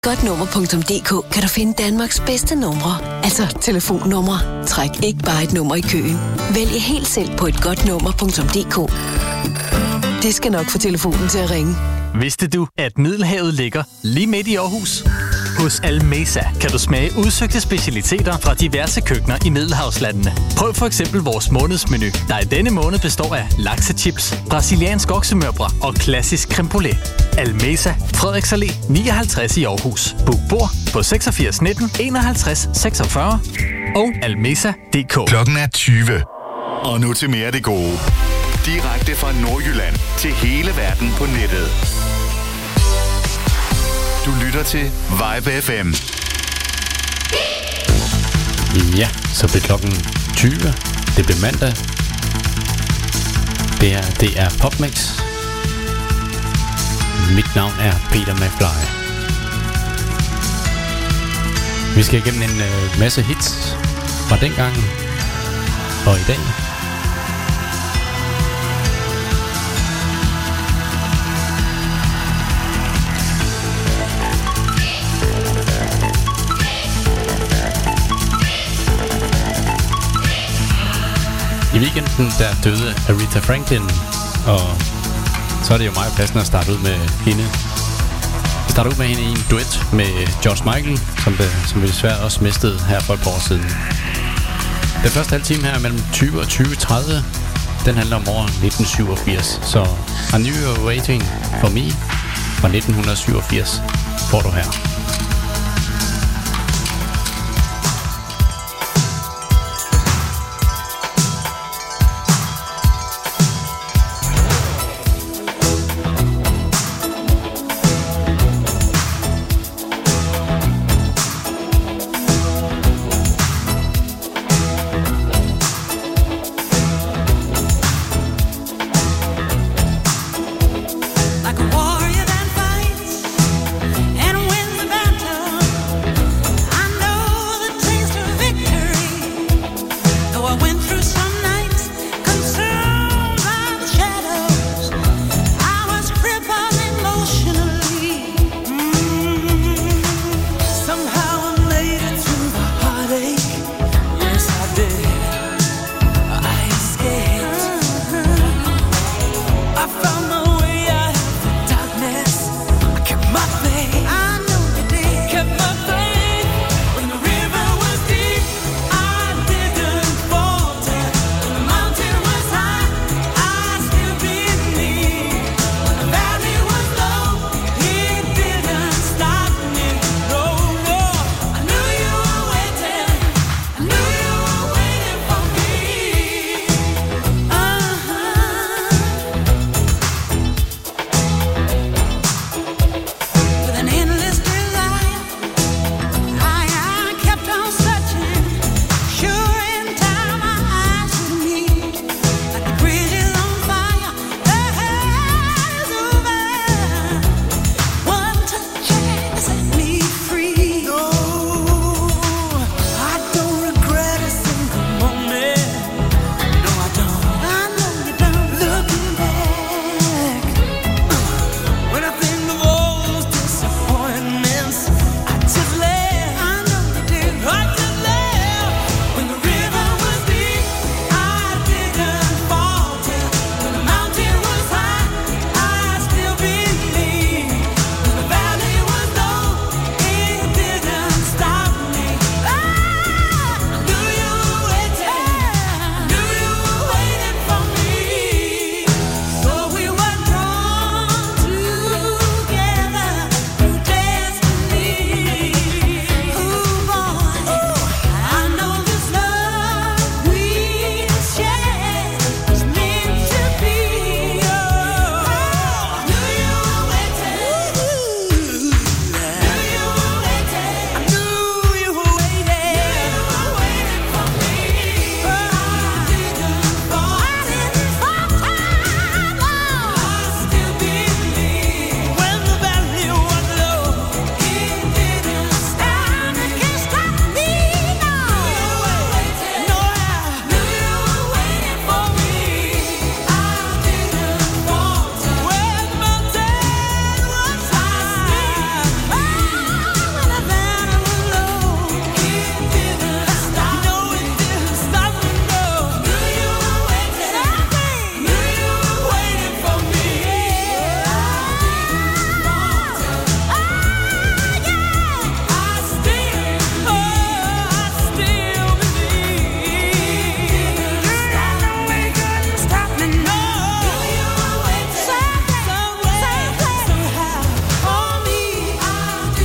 Godnummer.dk kan du finde Danmarks bedste numre, altså telefonnumre. Træk ikke bare et nummer i køen. Vælg helt selv på et godnummer.dk. Det skal nok få telefonen til at ringe. Vidste du, at Middelhavet ligger lige midt i Aarhus? Hos Almesa kan du smage udsøgte specialiteter fra diverse køkkener i Middelhavslandene. Prøv for eksempel vores månedsmenu, der i denne måned består af laksechips, brasiliansk oksemørbrad og klassisk creme brulee. Almesa, Frederiks Allé 59 i Aarhus. Book bord på 86 19 51 46 og almesa.dk. Klokken er 20. Og nu til mere af det gode. Direkte fra Nordjylland til hele verden på nettet. Du lytter til Vibe FM. Ja, så bliver klokken 20. Det bliver mandag. Det er PopMix. Mit navn er Peter McFly. Vi skal igennem en masse hits fra dengang og i dag. I weekenden der døde Aretha Franklin, og så er det jo meget passende at starte ud med hende. Vi starter ud med hende i en duet med George Michael, som vi desværre også mistede her for et par år siden. Den første halve time her mellem 20 og 20.30, den handler om år 1987. Så I Knew You Were Waiting For Me fra 1987 får du her. Like a warrior that fights and wins the battle.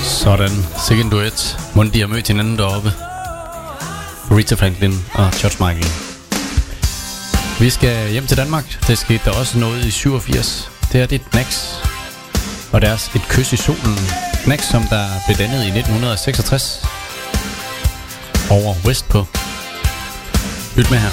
Sådan, sikke en duet. Måden de har mødt hinanden deroppe. Aretha Franklin og George Michael. Vi skal hjem til Danmark. Det skete der også noget i 87. Det er Knack og deres Et kys i solen. Knack, som der blev dannet i 1966 over Westpå. Lyt med her.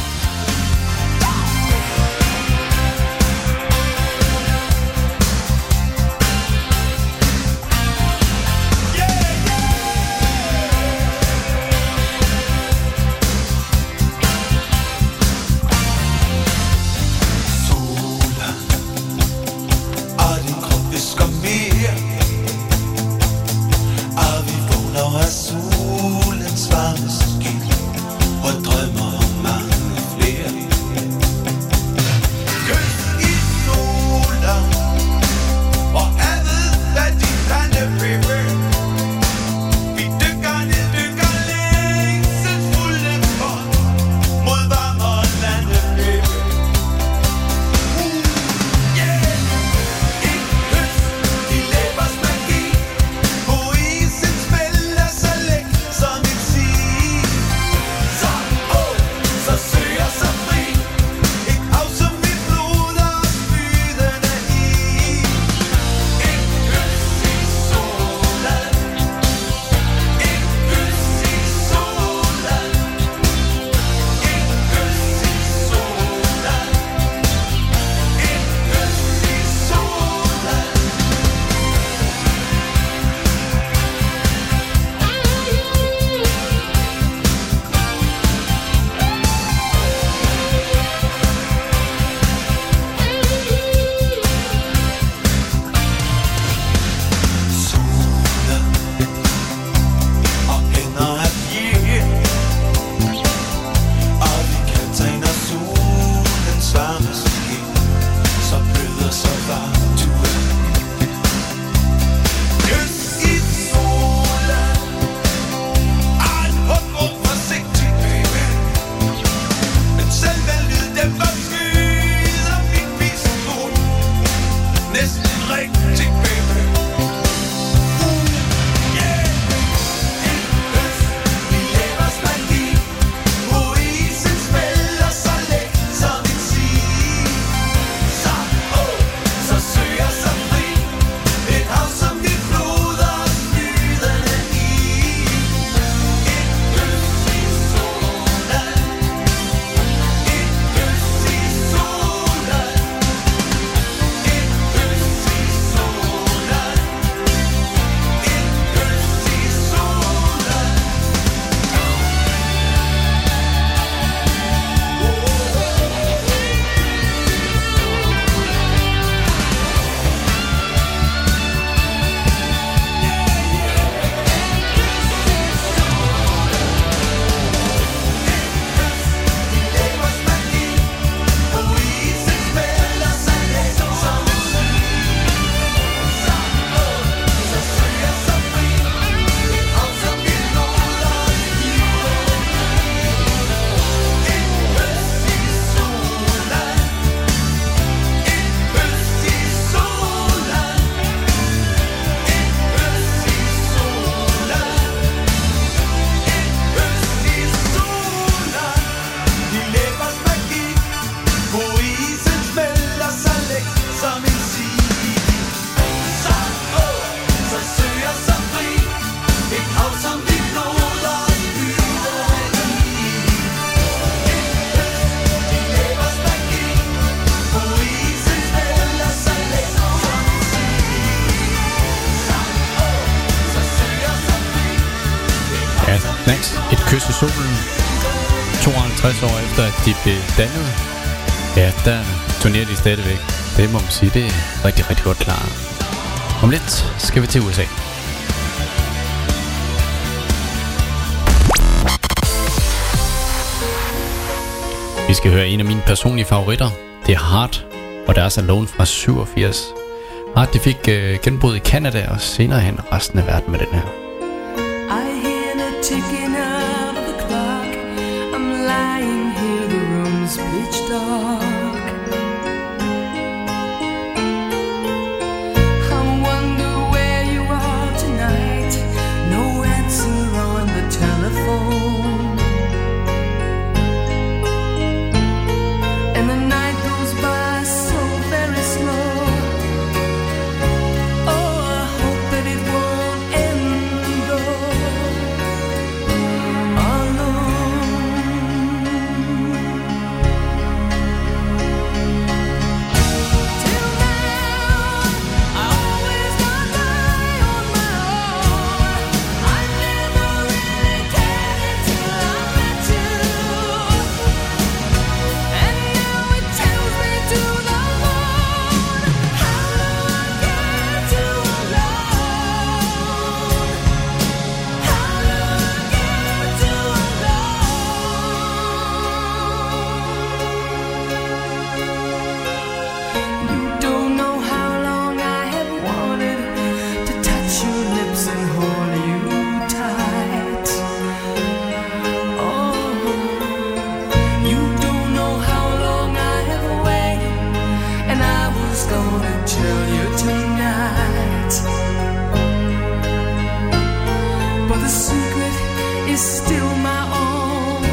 Et kys i solen. 52 år efter at de blev dannet, ja, der turnerer de stadigvæk. Det må man sige, det er rigtig, rigtig godt klar. Om lidt skal vi til USA. Vi skal høre en af mine personlige favoritter. Det er Heart, og deres Alone fra 87. Heart, de fik genbrud i Canada og senere hen resten af verden med den her. Ticking of the clock, I'm lying here, the room's pitch dark. I wonder where you are tonight. the secret is still my own,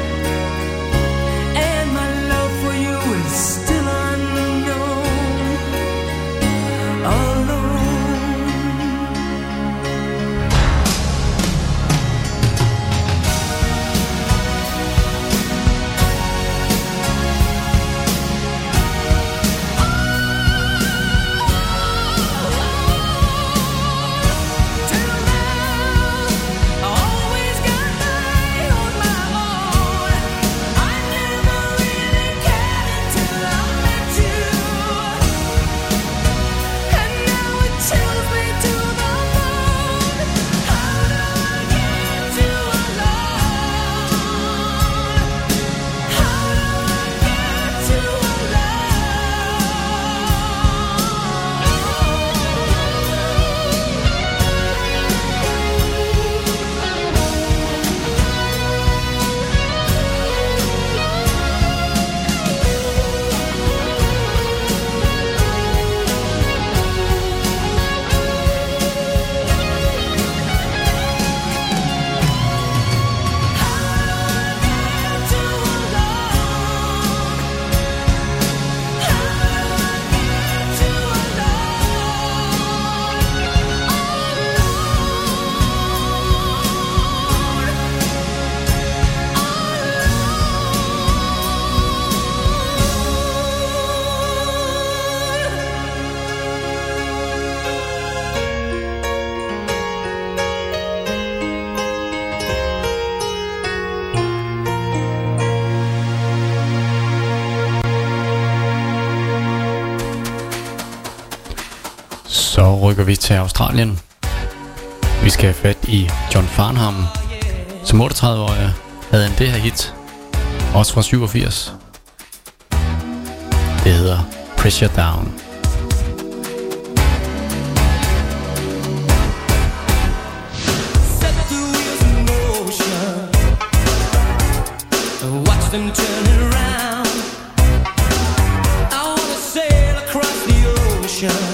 and my love for you is still unknown, alone. Så rykker vi til Australien. Vi skal have fat i John Farnham. Som 38-årig havde han det her hit, også fra 87. Det hedder Pressure Down. Set the wheels in motion, watch them turn around. I wanna sail across the ocean.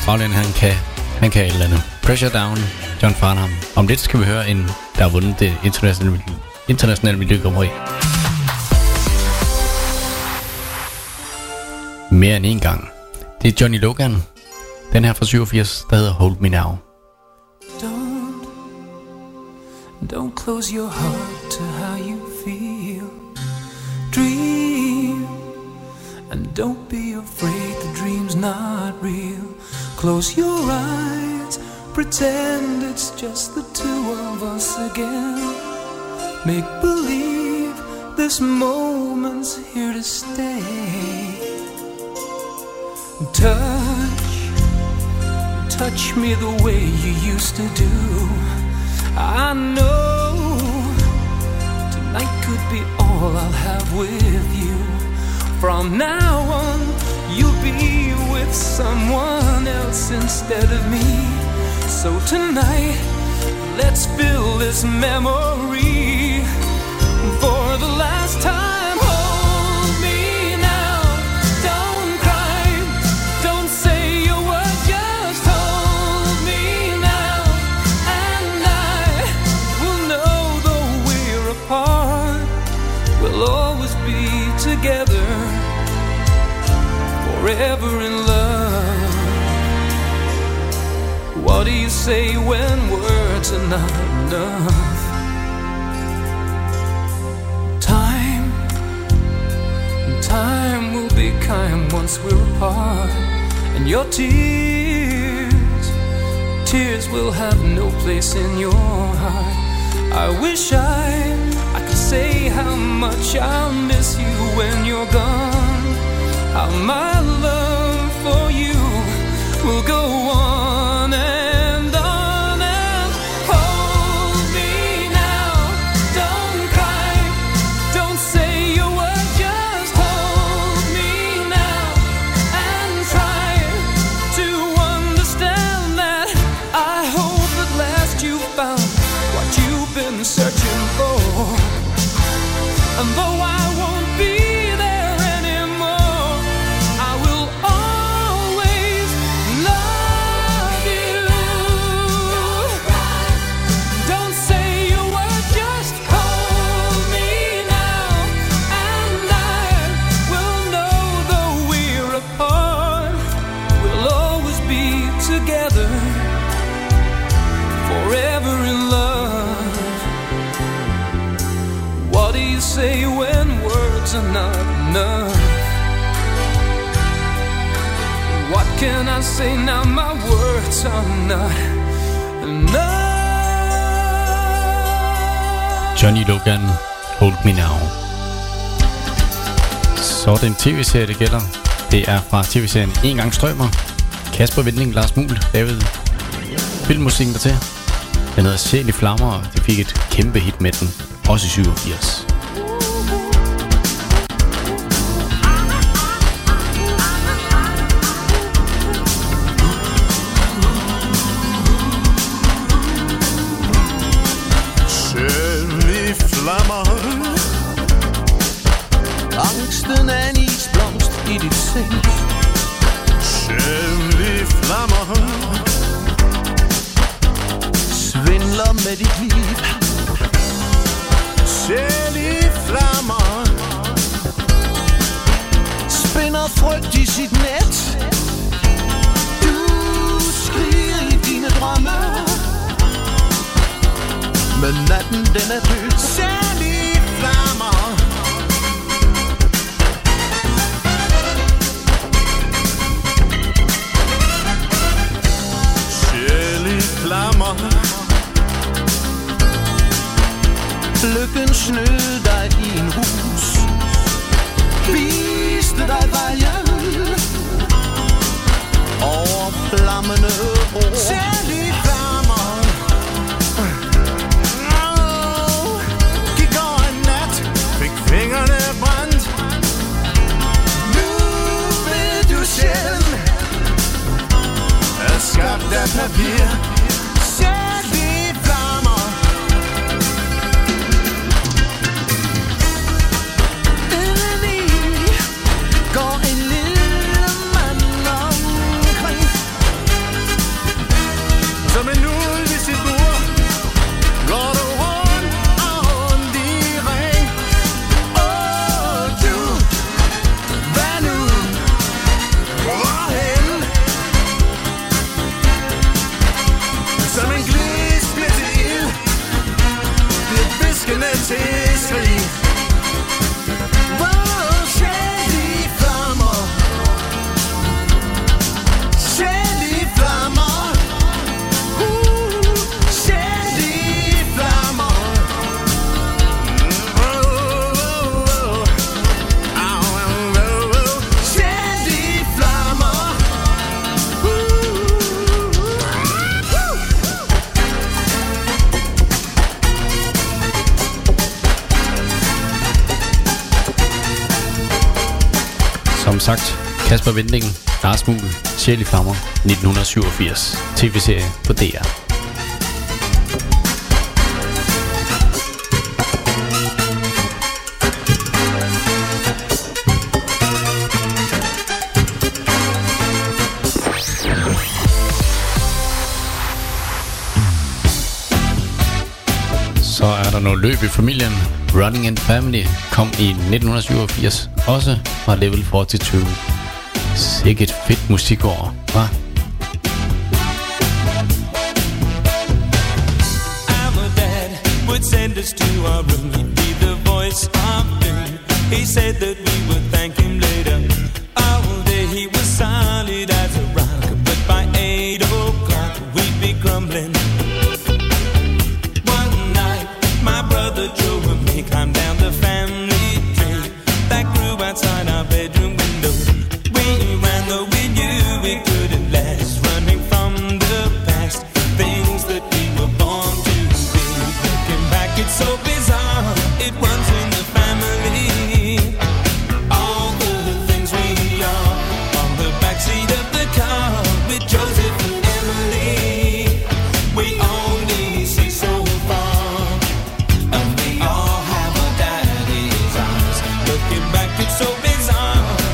Bagland, han kan et eller andet. Pressure Down, John Farnham. Om lidt skal vi høre en, der har vundet det internationale miljøgrupperi. Mere end en gang. Det er Johnny Logan. Den her fra 87, der hedder Hold Me Now. Don't close your heart to how you feel. Dream, and don't be afraid the dream's not real. Close your eyes, pretend it's just the two of us again. Make believe this moment's here to stay. Touch me the way you used to do. I know tonight could be all I'll have with you. From now on, you'll be with someone else instead of me. So tonight, let's fill this memory for the last time. Together, forever in love. What do you say when words are not enough? Time will be kind once we're apart. And your tears will have no place in your heart. I wish I could say how much I'll miss you when you're gone. How my love for you will go on and on and hold me now. Don't cry, don't say a word, just hold me now and try to understand that. I hope at last you found what you've been searching for. And though I won't be there anymore, I will always love you. Don't say a word, just hold me now. And I will know though we're apart, we'll always be together, forever in love. What do you say when words are not enough? What can I say now? My words are not enough. Johnny Logan, Hold Me Now. Så er det en tv-serie, det gælder. Det er fra tv-serien En Gang Strømmer. Kasper Winding, Lars Muhl, David. Filmmusikken dertil. Den hedder Sjæl i Flammer, og de fik et kæmpe hit med den. Også i 87. Angsten er en isblomst i dit sind. Sjæl i flammer. Svindler med dit liv. Sjæl i flammer. Spinder frygt i sit net. Du skriger i dine drømme. Men natten den er død. Sjæl i flammer. Flammer. Lykken snød dig i en hus, viste dig vejen over flammende ord. Sjæl i flammer. Som sagt, Kasper Winding, Lars Muhl, Sjæl i Flammer, 1987. TV-serie på DR. Så er der noget løb i familien. Running in the Family kom i 1987, også fra Level 42. Sikkert fedt musikår, hva'? Our dad would send us to our room. He'd be the voice of doom. He said that we would thank him later. All day he was solid as a rock, but by 8 o'clock we'd be grumbling. One night my brother Joe and me climbed down the family tree that grew outside our bedroom window. We ran though we knew we couldn't last, running from the past, things that we were born to be. Looking back, it's so bizarre, it runs in the family. All the things we are on the backseat of the car with Joseph and Emily. We only see so far, and we all have our daddy's eyes. Looking back, it's so bizarre.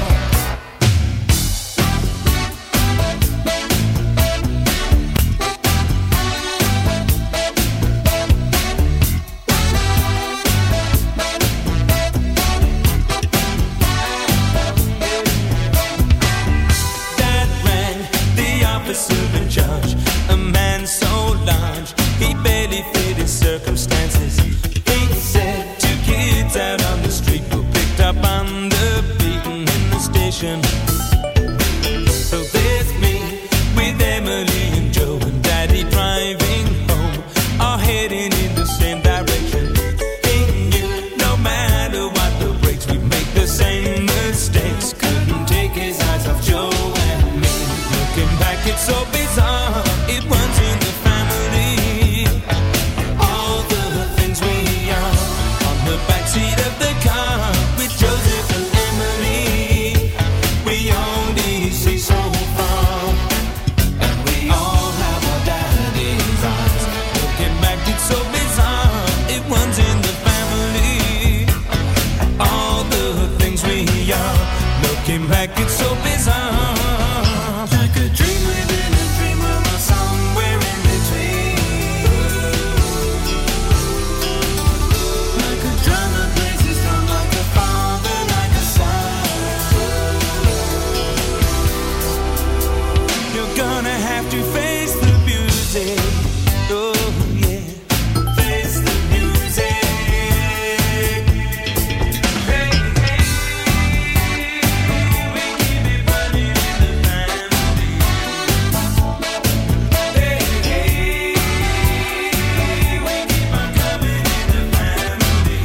Dad rang the officer in charge, a man so large he barely fit his circumstances. He said 2 kids out on the street were picked up on the beaten in the station. So there's me with Emily and Joe and Daddy driving home, all heading in the same direction. He knew no matter what the brakes, we'd make the same mistakes. Couldn't take his eyes off Joe and me. Looking back, it's so bizarre, it runs in the family. All the things we are on the backseat of the car with Joseph and Emily. We only see so far, and we all have our daddy's eyes. Looking back, it's so bizarre, it runs in the family. All the things we are. Looking back, it's so bizarre. Like a dream within a dream, or somewhere in between. Like a drum that plays its drum, like a father, like a son. You're gonna have to face the music. Oh yeah, face the music. Hey, hey, we keep it running in the family. Hey, hey, we keep on coming in the family.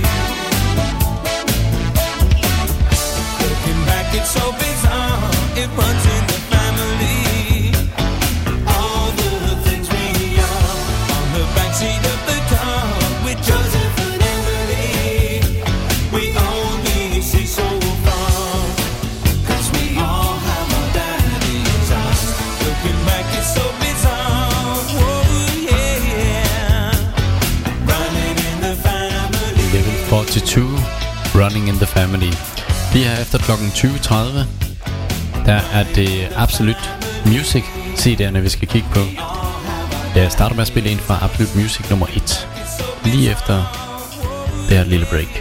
Looking back, it's so bizarre, it runs in the family. All the things we are on the backseat of the car with Joseph and Emily. We only see so far, 'cause we all have our daddy's eyes. Looking back, it's so bizarre. Whoa, yeah, yeah. Running in the family. Level 42, Running in the Family. Lige her efter klokken 20.30, der er det Absolute Music CD'erne, vi skal kigge på. Jeg starter med at spille en fra Absolute Music nummer 1, lige efter det her lille break.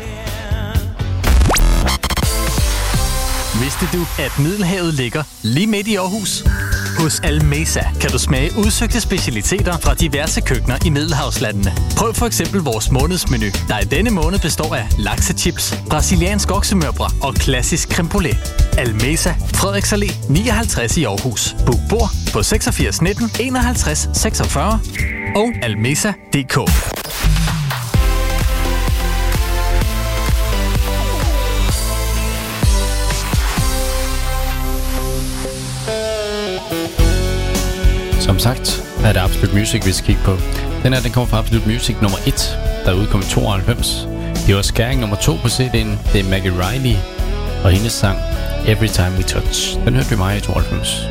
Vidste du, at Middelhavet ligger lige midt i Aarhus? Hos Almesa kan du smage udsøgte specialiteter fra diverse køkkener i Middelhavslandene. Prøv for eksempel vores månedsmenu, der i denne måned består af laksechips, brasiliansk oksemørbrad og klassisk creme brûlée. Almesa, Frederiks Allé 59 i Aarhus. Book bord på 86 19 51 46 og almesa.dk. Som sagt er det Absolute Music, vi skal kigge på. Den her, den kommer fra Absolute Music nummer 1, der udkom i 92. Det var skæring nummer 2 på CD'en. Det er Maggie Riley og hendes sang Every Time We Touch. Den hørte vi mig i 92.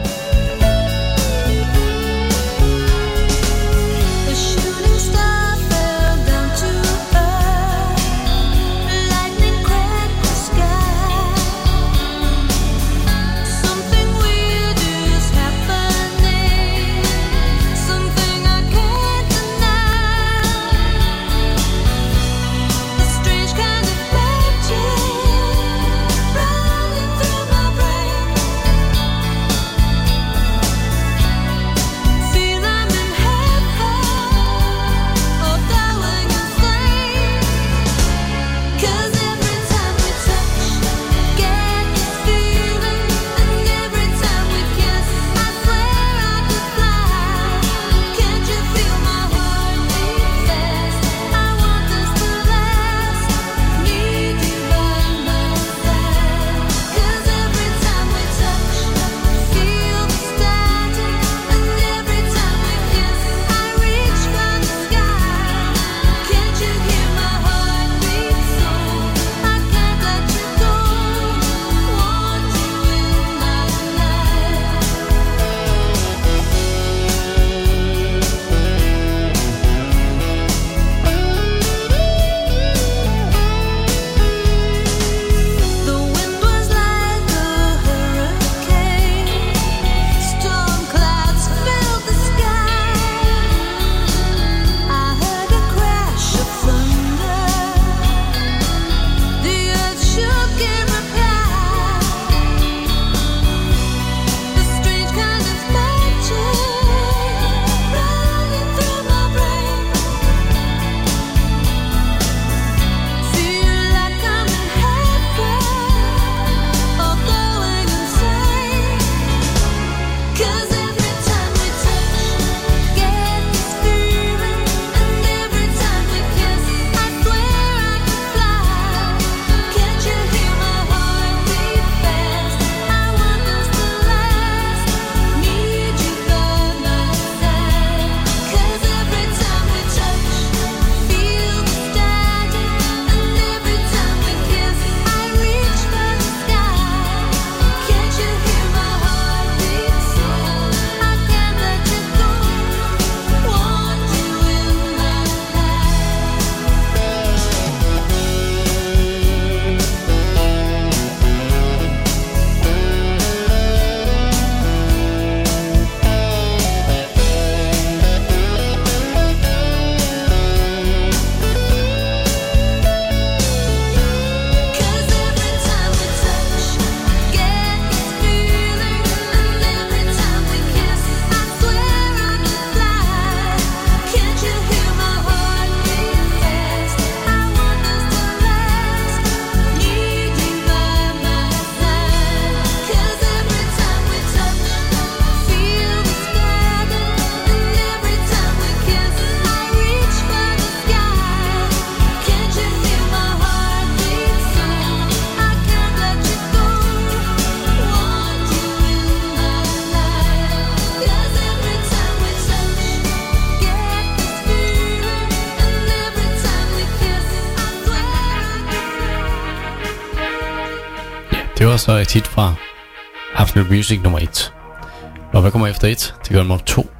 Det var så et hit fra Absolute Music nummer 1. Og hvad kommer efter 1? Det gør nummer 2.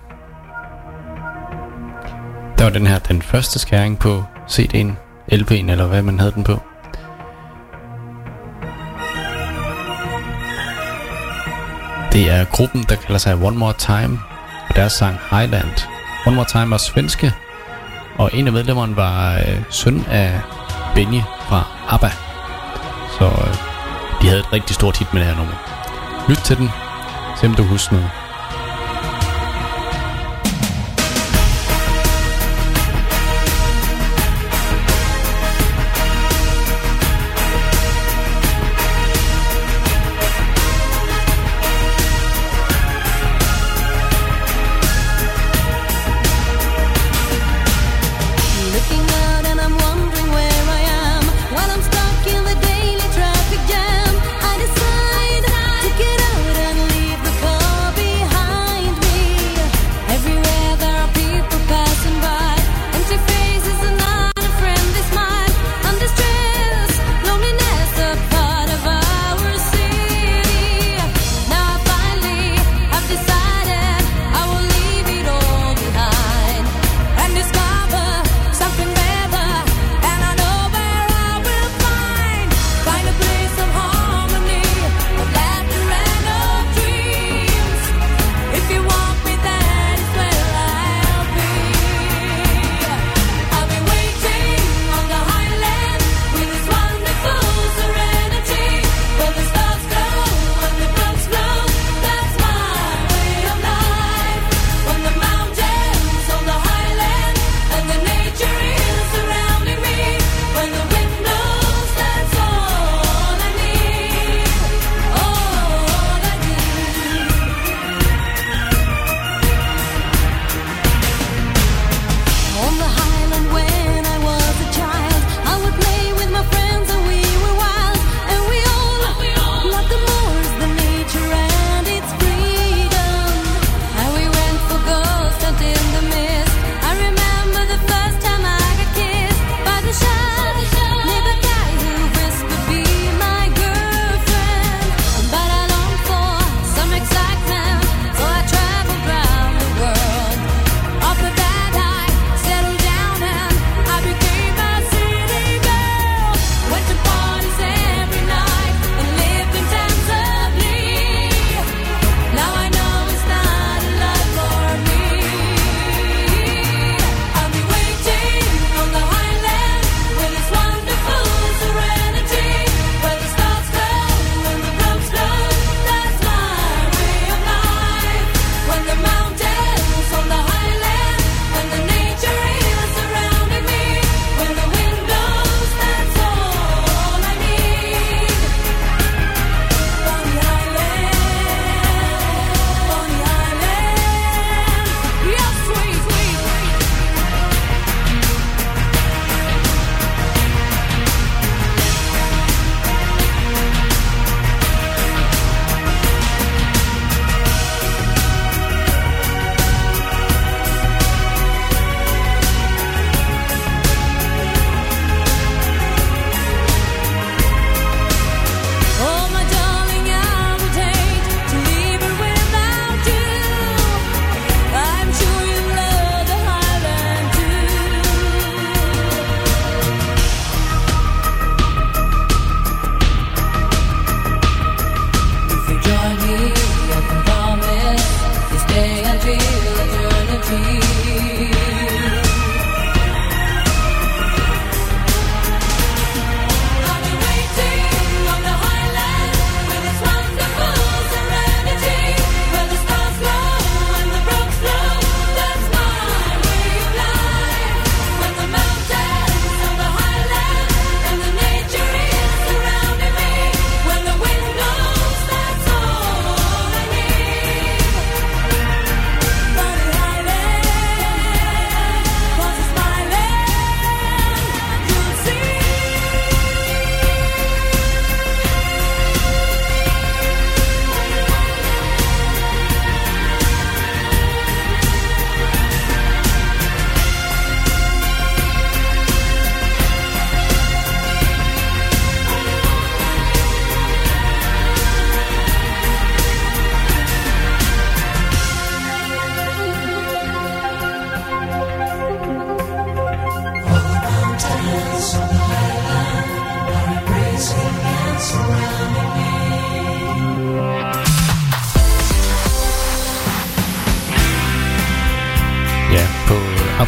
Der var den her, den første skæring på CD'en, LP'en eller hvad man havde den på. Det er gruppen, der kalder sig One More Time, og deres sang Highland. One More Time var svenske, og en af medlemmerne var søn af Benny fra ABBA. Så de havde et rigtig stort hit med det her nummer. Lyt til den, se om du husker noget. Behind.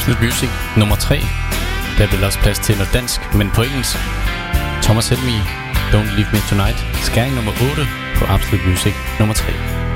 Absolute Music nummer 3. Der bliver også plads til noget dansk, men på engelsk. Thomas Helmig, Don't Leave Me Tonight. Skæring nummer 8 på Absolute Music nummer 3.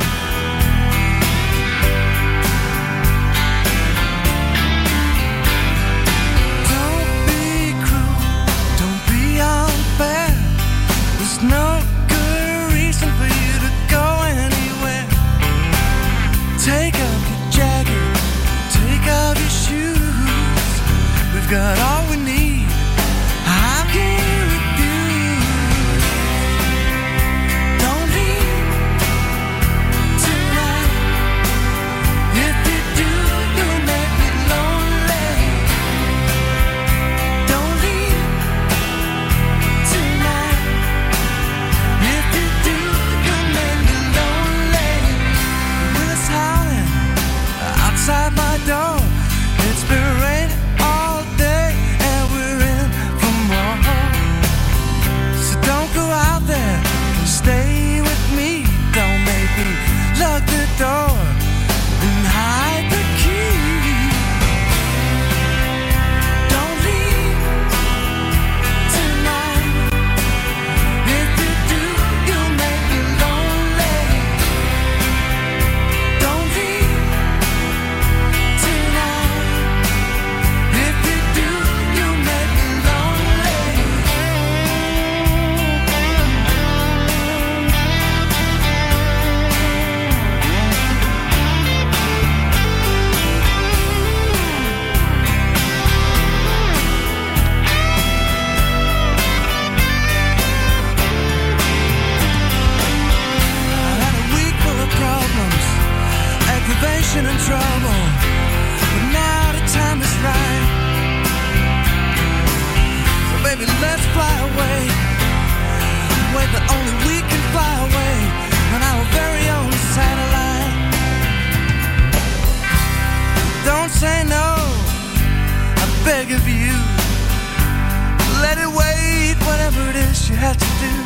No good reason for you to go anywhere. Take off your jacket, take off your shoes. We've got all we need. How can you refuse? Don't leave tonight. If you do, you'll make me lonely. Don't leave tonight. Outside my door, it's been raining all day, and we're in for more. So don't go out there, stay with me. Don't make me lock the door and hide the key. Don't leave tonight. If you do, you'll make me lonely. Don't leave tonight. If you do, you'll make me lonely. I had a week full of problems, aggravation and trouble, but now the time is right. So baby, let's fly away, way that only we can fly away on our very own satellite. Don't say no, I beg of you. Let it wait, whatever it is you have to do.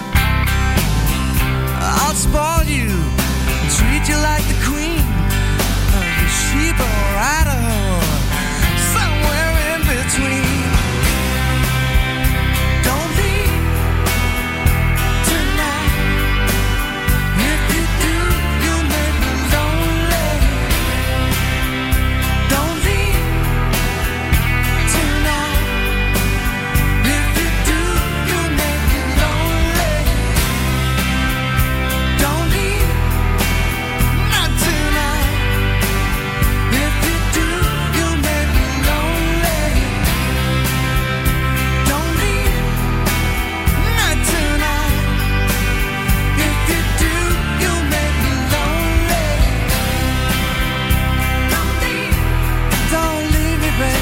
I'll spoil you, treat you like the queen of the sheep or Idaho, somewhere in between. Don't leave tonight. If you do, you'll make me lonely. Don't leave tonight. If you do, you'll make me lonely. Don't leave, not tonight. If you do, you'll make me lonely. Don't leave, not tonight. If you do, you'll make me lonely. Don't leave me, baby.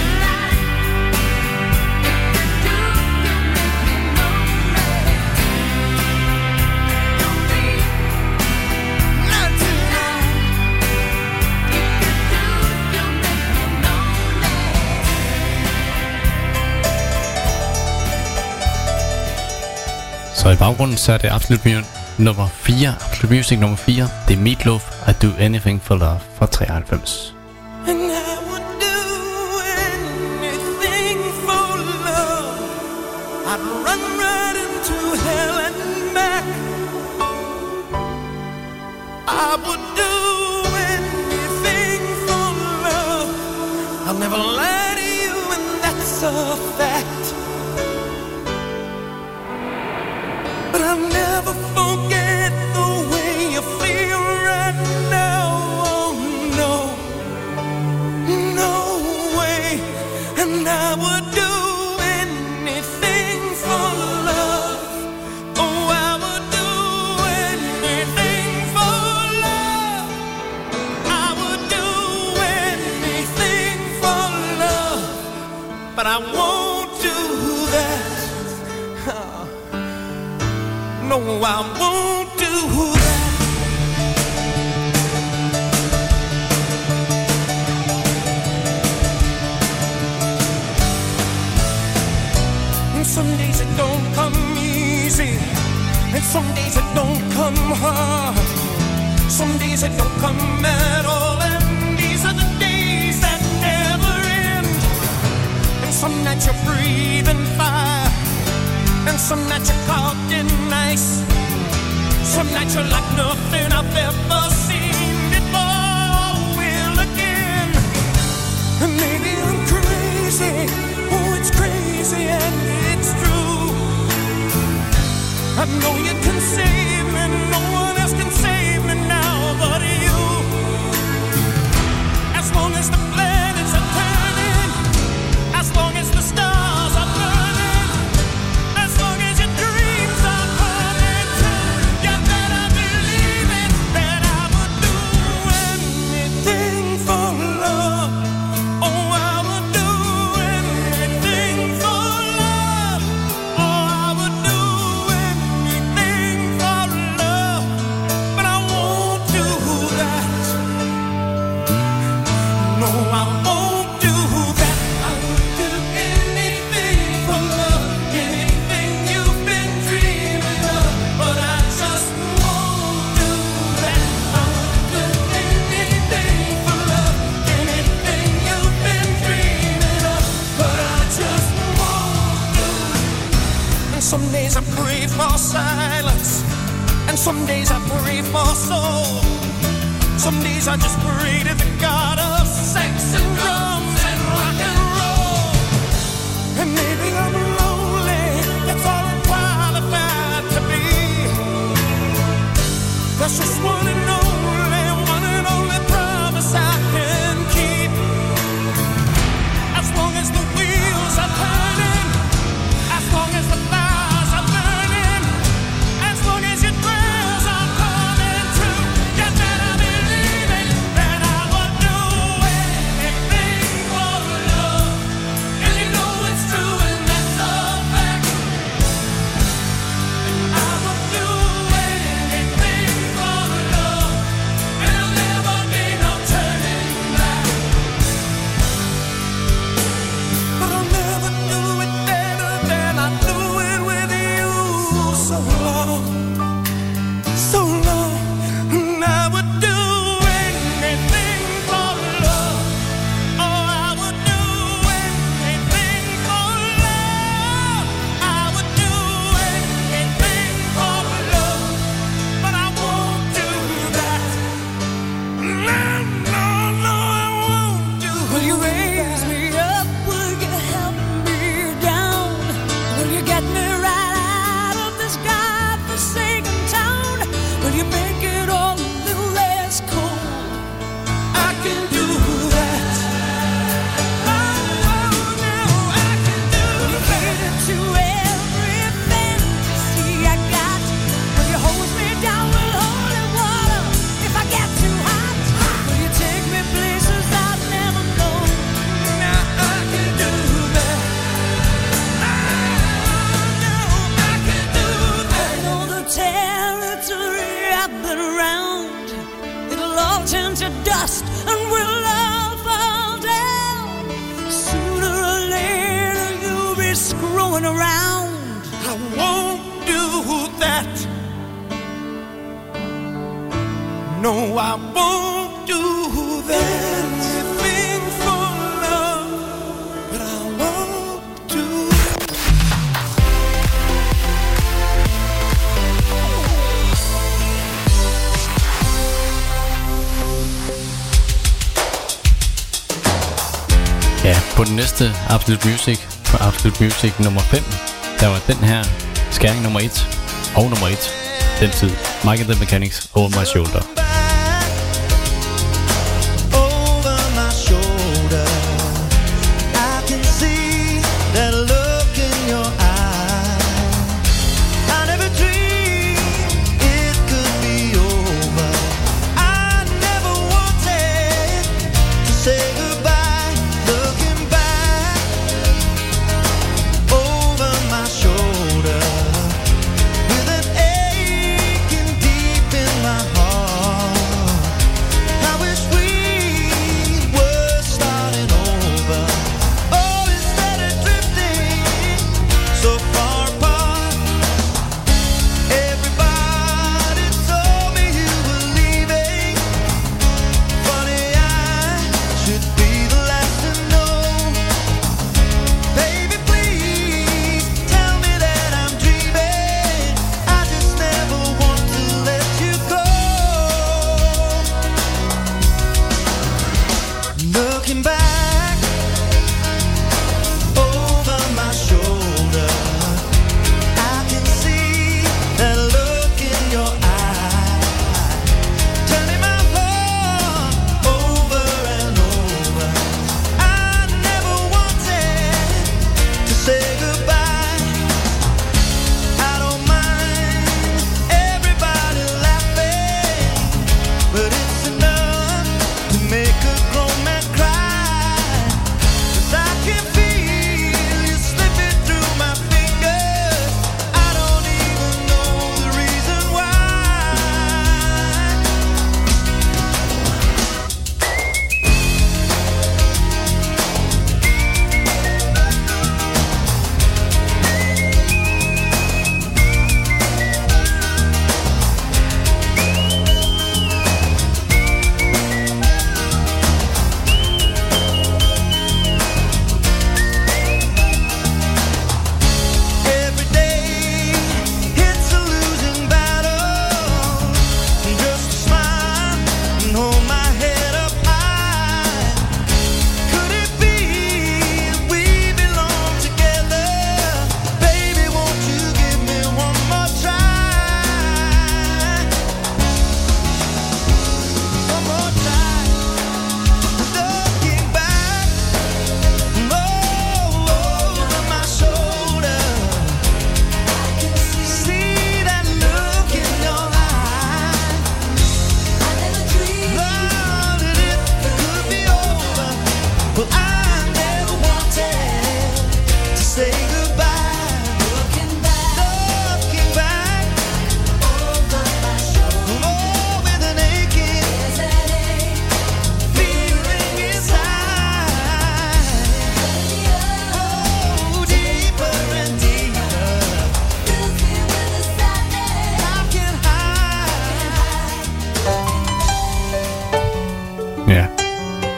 Not tonight. Så i baggrunden så er det Absolute nummer 4. Absolute Music nummer 4. Det er Meatloaf, I Do Anything for Love fra 93. And I would do anything for love. I'd run right into hell and back. I would do anything for love. I'll never lie to you, and that's a fact. But I'll never forget the way you feel right now. Oh no, no way. And I would do anything for love. Oh, I would do anything for love. I would do anything for love. But I won't do that. No, I won't do that. And some days it don't come easy, and some days it don't come hard. Some days it don't come at all, and these are the days that never end. some nights you're breathing fire, and some nights you're caught in ice. Some nights you're like nothing I've ever seen before. We're looking, and maybe I'm crazy. Oh, it's crazy and it's true. I know you can save me, no one else can save me now but you. As long as the planets are turning, as long as the stars are burning, as long as your dreams are coming true, you better believe it, that I would do anything for love. Oh, I would do anything for love. Oh, I would do anything for love. But I won't do that. No, I won't do that. I would do anything for love, anything you've been dreaming of. But I just won't do that. I would do anything for love, anything you've been dreaming of. But I just won't do it. And some days I pray for silence, and some days I pray for soul. Some days I just pray to the God of sex and drums and rock and roll. And maybe I'm lonely, that's all I'm qualified to be. That's just one and only promise I can keep. As long as the wheels are turning, as long as the fires are burning, as long as your prayers are coming true, you better believe it, that I would do anything for love. And you know it's true, and that's a fact. I would do anything for love, and there'll never be no turning back. But I'll never do it better than I do it with you. So long, and I would do anything for love. Oh, I would do anything for love. I would do anything for love, but I won't do that. No, I won't do that. Will you raise me up? Will you help me down? Will you get me right out of this godforsaken town? Will you make it all a little less cold? I can do that. Oh, no, I can do that. To every fantasy I got, will you hold me down with holy water if I get too hot? Will you take me places I've never known? Now I can do that. No, I can do that. I know the territory I've been around, it'll all turn to dust and we'll all fall down. Sooner or later you'll be screwing around. I won't do that. No, I won't do that. Anything for love, but I won't do Ja, på den næste Absolute Music, på Absolute Music nummer 5, der var den her skæring nummer 1 og nummer 1, den tid. Mike and the Mechanics, Over My Shoulder. Over my shoulder, I can see that look in your eye. I never dreamed it could be over. I never wanted to say goodbye. Looking back over my shoulder, with an aching deep in my heart.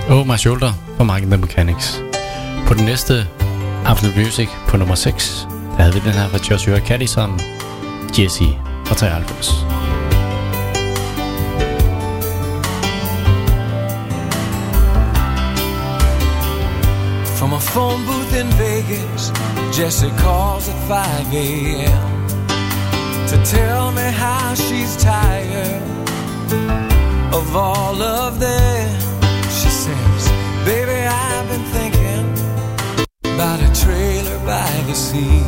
Oh My Shoulder fra Mike and the Mechanics. På den næste Absolute Music på nummer 6, der havde vi den her fra Joshua Caddison, Jesse fra 93. From a phone booth in Vegas, Jessie calls at 5 a.m. to tell me how she's tired of all of them. She says, baby, I've been thinking about a trailer by the sea.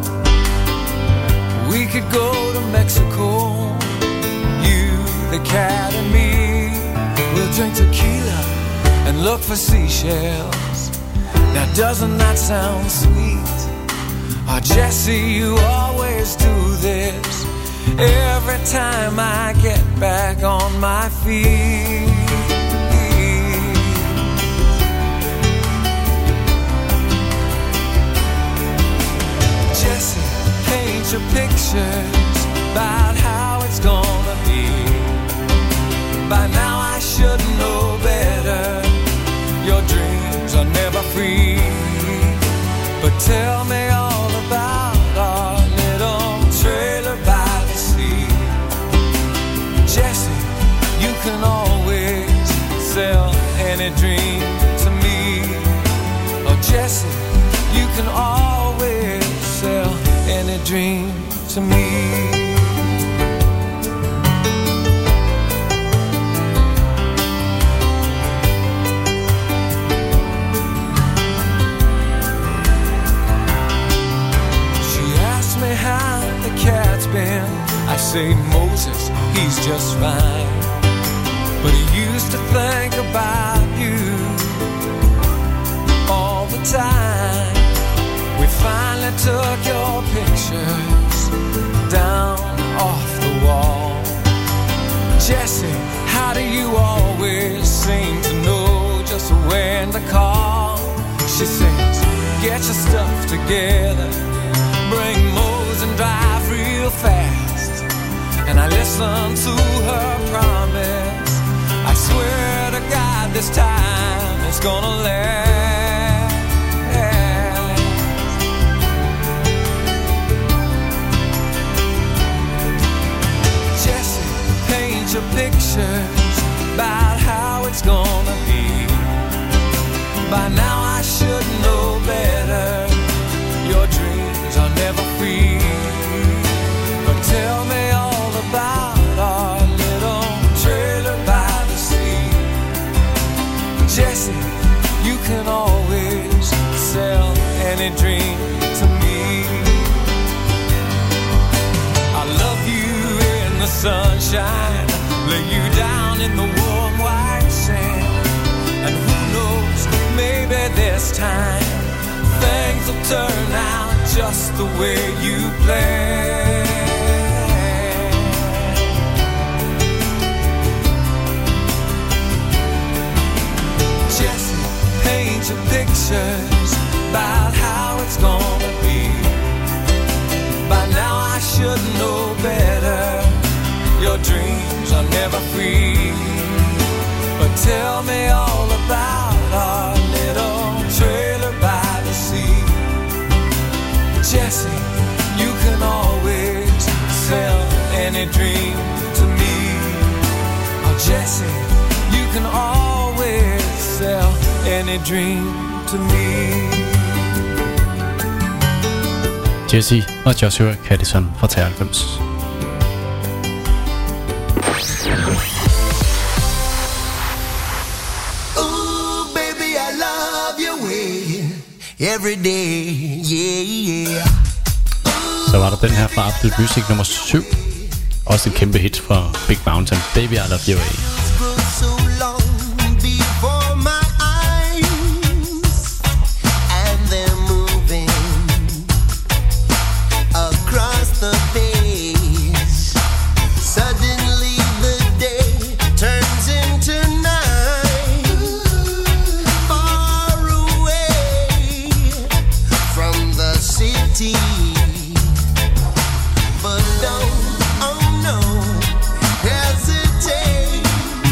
We could go to Mexico, you, the cat and me. We'll drink tequila and look for seashells. Now doesn't that sound sweet? Oh, Jessie, you always do this every time I get back on my feet. Jessie, paint your pictures about how it's gonna be. By now I should know better. Your dreams are never free. But tell me all about our little trailer by the sea. Jessie, you can always sell any dream to me. Oh, Jessie, you can always sell any dream to me. How the cat's been, I say Moses, he's just fine. But he used to think about you all the time. We finally took your pictures down off the wall. Jessie, how do you always seem to know just when to call? She says, get your stuff together, bring Mo's and drive real fast. And I listen to her promise. I swear to God this time it's gonna last. Jessie, paint your pictures about how it's gonna be. By now I should know better. Your dreams are never free. But tell me all about our little trailer by the sea. Jessie, you can always sell any dream to me. I love you in the sunshine, lay you down in the warm white sand. And who knows, maybe this time things will turn out just the way you planned. Jessie, paint your pictures about how it's gonna be. By now I should know better. Your dreams are never free. But tell me all about our little trailer by the sea. Jessie, you can always sell any dream to me. Oh, Jessie, you can always sell any dream to me. Jessie og Joshua Caddison fra 93. Every day, yeah, yeah. Så var der den her fra Absolute Music nummer 7. Også et kæmpe hit fra Big Mountain, Baby I Love Your Way. But don't, oh no, hesitate.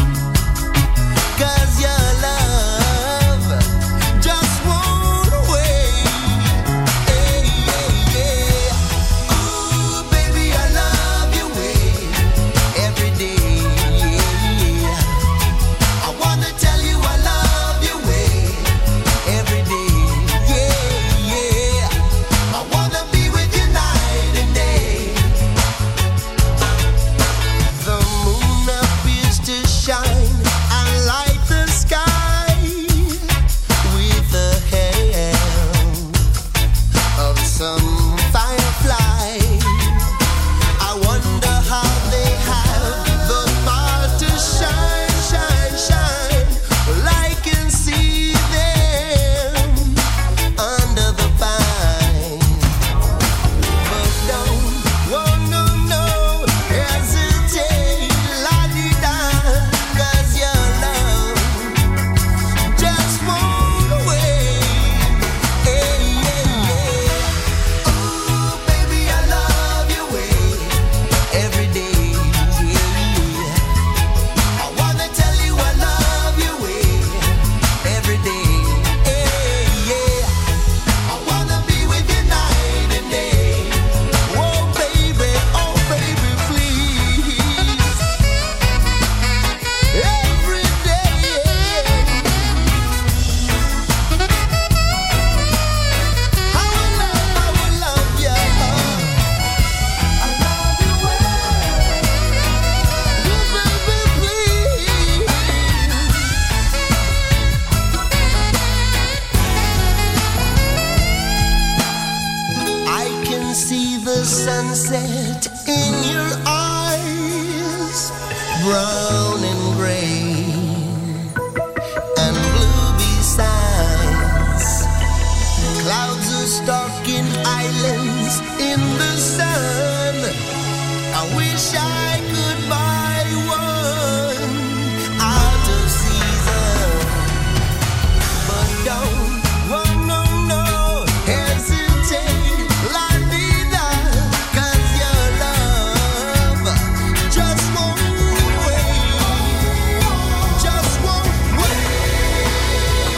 brown and gray and blue besides. Clouds are stalking islands in the sun. I wish I could buy one out of season, but don't, oh no, no, hesitate, la vida, 'cause your love just won't wait, just won't wait.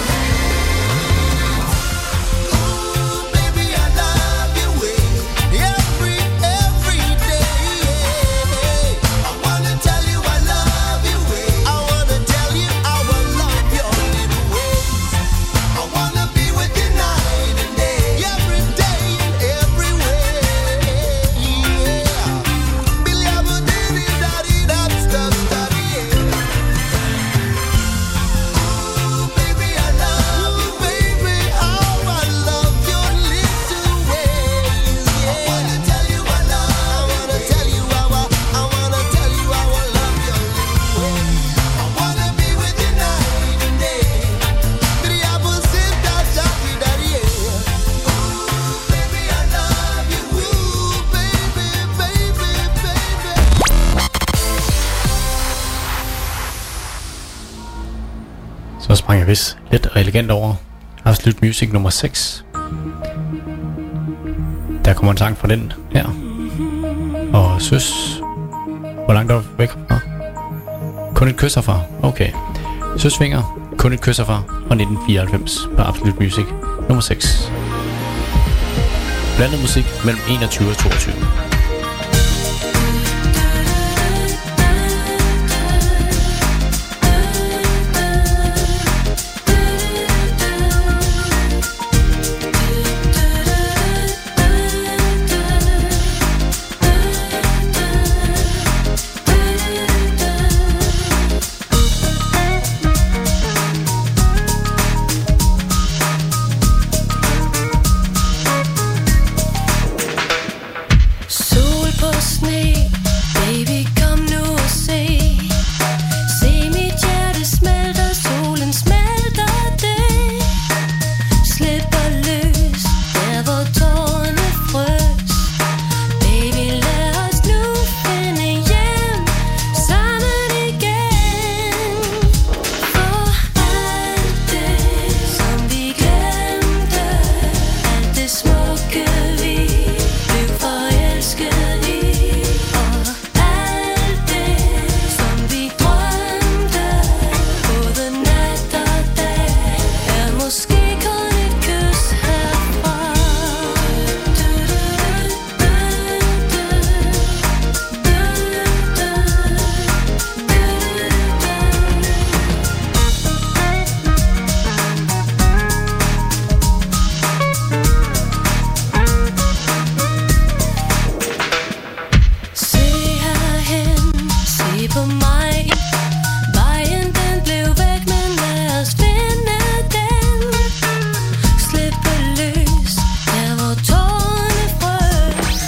Ooh, baby, I love you every day. I wanna tell you I love you. I wanna tell you I will love your little ways. I wanna be with you night and day, every day and every way. Yeah. Billy Abba diddy daddy that stuff daddy. Ooh, baby, I love you, baby. How I love your little ways. Yeah. I wanna tell you I love. I wanna tell you I wanna tell you I will love your little ways. I wanna be with you night and day. Billy Abba said that daddy daddy. Ooh, baby, I love you. Ooh, baby, baby, baby. Så sprang jeg vist let og elegant over Absolute Music nummer 6. Der kommer en sang fra den her. Og søs. Hvor langt er du væk fra? Kun et kys herfra. Okay. Søsvinger. Kun et kys herfra. Og 1994 på Absolute Music nummer 6. Blandet musik mellem 21 og 22. Sol på sne, baby kom nu og se. Se mit hjerte smelter, solen smelter det. Slipper løs, der hvor tårerne frøs. Baby lad os nu finde hjem, sammen igen. For alt det som vi glemte, alt det smukke vi blev forelsket i. Og alt det som vi drømte, både nat og dag, er måske kun et kys herfra. Se herhen, se på mig. Vejen den blev væk, men lad os finde den. Slippe løs, der hvor tårerne frøs.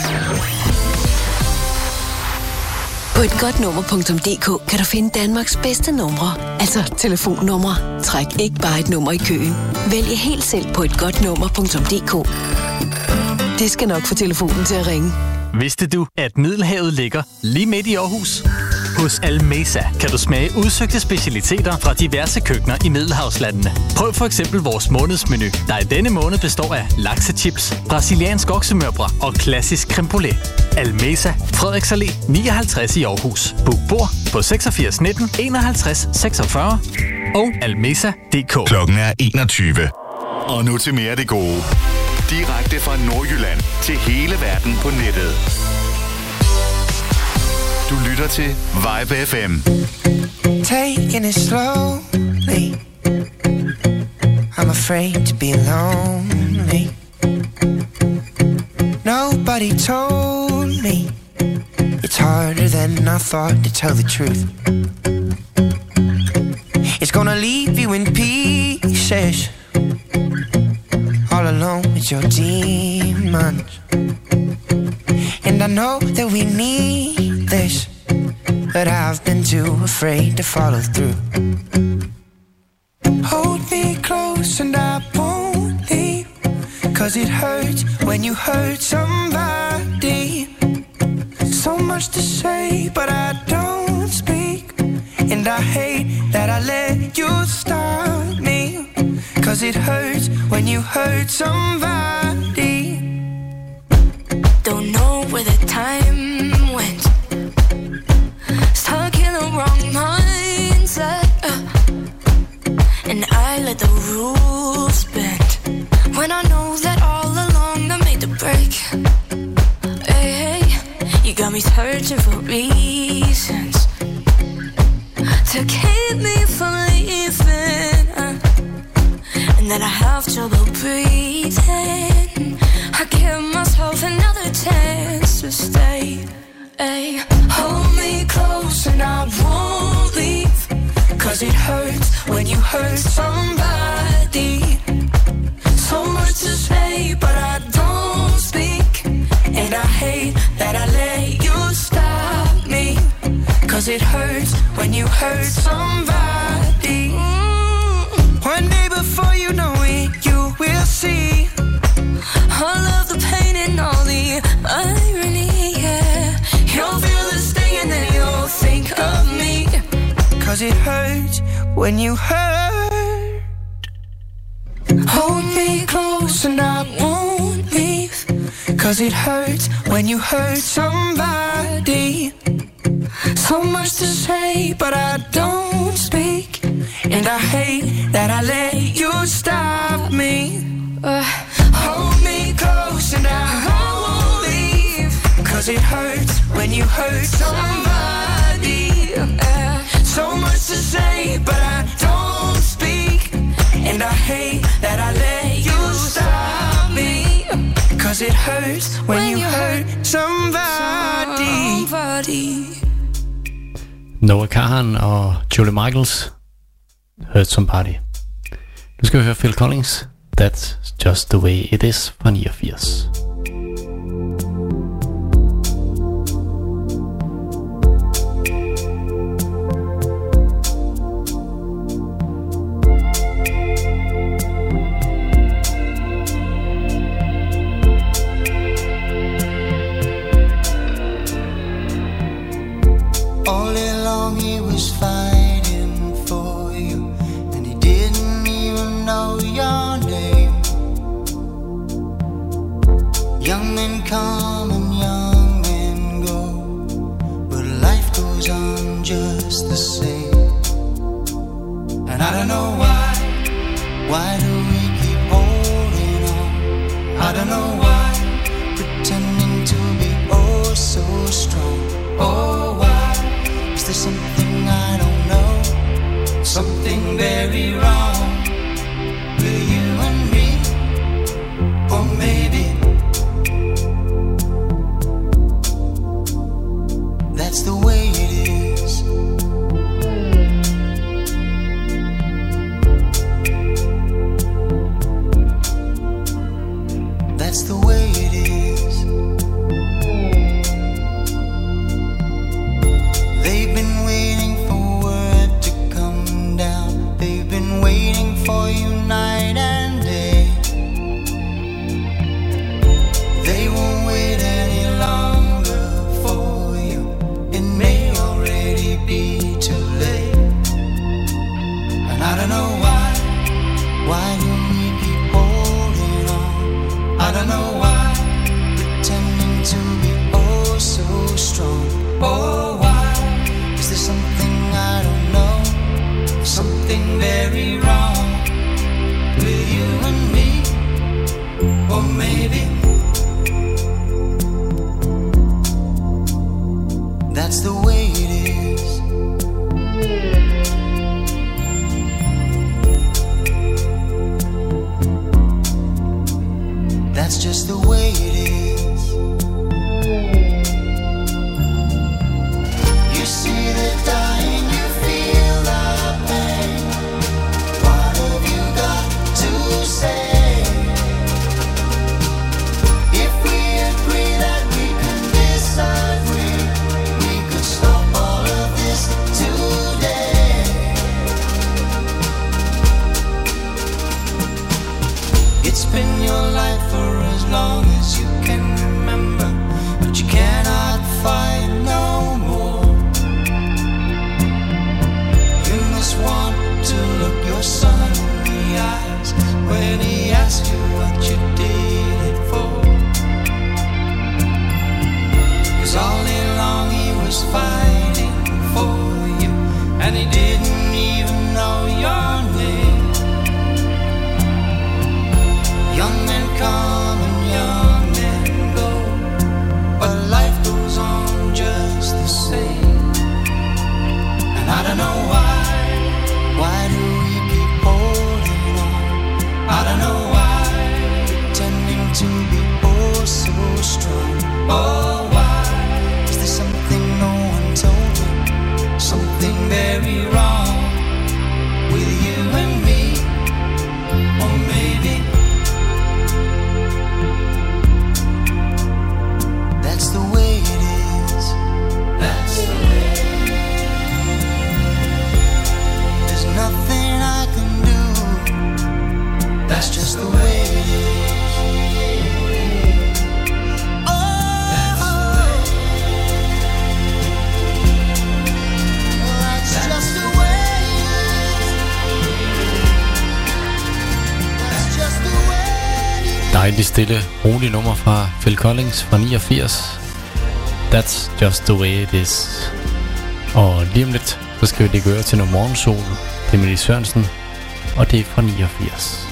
På et godnummer.dk kan du finde Danmarks bedste numre, altså telefonnumre. Træk ikke bare et nummer i køen. Vælg helt selv på et godnummer.dk. Det skal nok få telefonen til at ringe. Vidste du, at Middelhavet ligger lige midt i Aarhus? Hos Almesa kan du smage udsøgte specialiteter fra diverse køkkener i Middelhavslandene. Prøv for eksempel vores månedsmenu, der i denne måned består af laksechips, brasiliansk oksemørbrad og klassisk creme brûlée. Almesa, Frederiks Allé 59 i Aarhus. Book bord på 86 19 51 46 og almesa.dk. Klokken er 21. Og nu til mere af det gode. Direkte fra Nordjylland til hele verden på nettet. Du lytter til Vibe FM. Taking it slowly. I'm afraid to be lonely. Nobody told me it's harder than I thought to tell the truth. It's gonna leave you in pieces, all alone with your demons. And I know that we need this, but I've been too afraid to follow through. Hold me close and I won't leave, 'cause it hurts when you hurt somebody. So much to say, but I don't speak, and I hate that I let you stop me, 'cause it hurts when you hurt somebody. Don't know where the time went, stuck in the wrong mindset, and I let the rules bend, when I know that all along I made the break. Hey, hey, you got me searching for reasons to keep me from leaving, and then I have trouble breathing. I give myself another chance to stay. Ay, hold me close and I won't leave, 'cause it hurts when you hurt somebody. So much to say, but I don't speak, and I hate that I let you stop me, 'cause it hurts when you hurt somebody. One day before you know it, you will see all of the pain and all the irony, yeah. You'll feel the sting and then you'll think of me, 'cause it hurts when you hurt. Hold me close and I won't leave, 'cause it hurts when you hurt somebody. So much to say, but I don't speak, and I hate that I let you stop me. Hold me close and I won't leave, 'cause it hurts when you hurt somebody. So much to say, but I don't speak, and I hate that I let you stop me, 'cause it hurts when you hurt somebody. Noah Kahan og Julie Michaels, Hurt Somebody. Nu skal vi høre Phil Collins, That's Just The Way It Is fra 89. All along he was fighting for you, and he didn't even know your name. Young men come and young men go, but life goes on just the same. And I don't know why do we keep holding on? I don't know why, pretending to be oh so strong. Oh, why? Is there something I don't know? Something very wrong with you and me? Or maybe that's the way it is. That's the way it is. They've been waiting for word to come down. They've been waiting for you night and day. They won't wait any longer for you. It may already be too late. And I don't know why do we keep holding on? I don't know why, pretending to be oh so strong. Oh, why? Is there something I don't know? Something very wrong with you and me? Or maybe that's the way it is. That's just the way it is. You see the dying, you feel the pain. What have you got to say? I don't know why. Why do we keep holding on? I don't know why. Pretending to be oh so strong. Oh, why? Is there something no one told me? Something very wrong with you and me? Or maybe that's the way it is. That's the way. There's nothing I can do. That's just the way it is. Dejligt stille, rolig nummer fra Phil Collins fra 89. That's just the way it is. Og lige om lidt, så skal vi lægge øre til noget morgensol. Det er Mette Sørensen, og det er fra 89.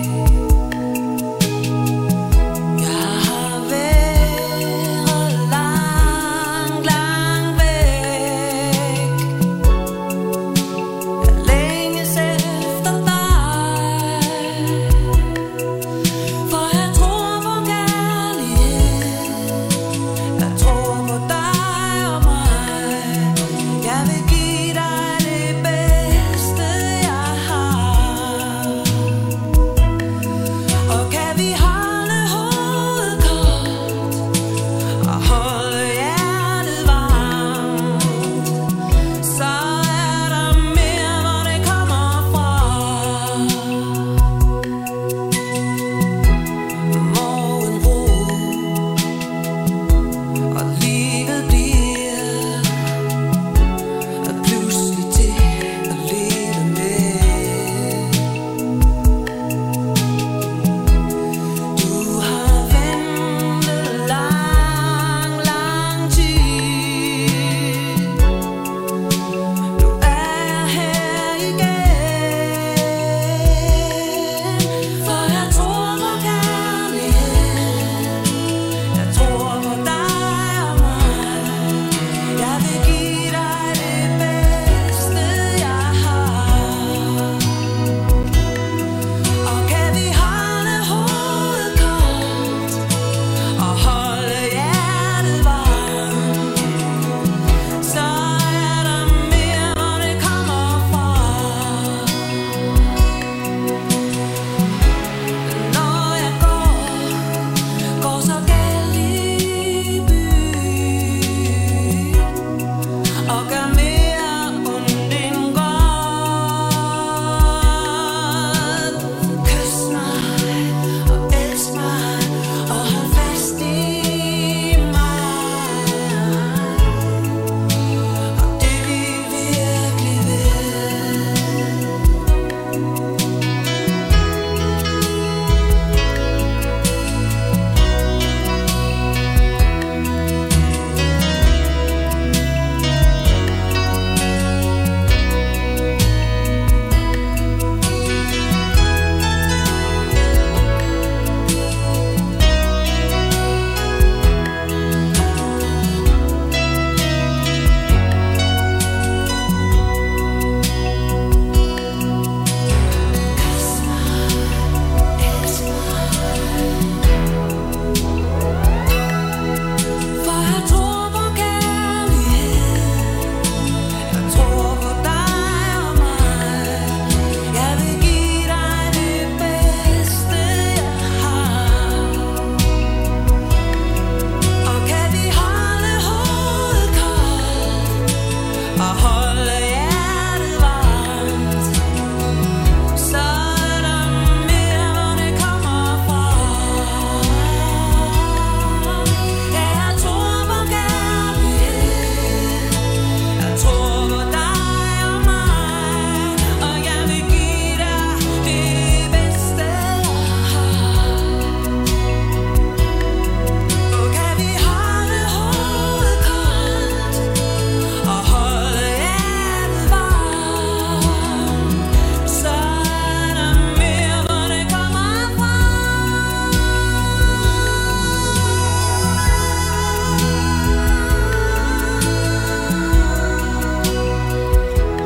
Jeg har været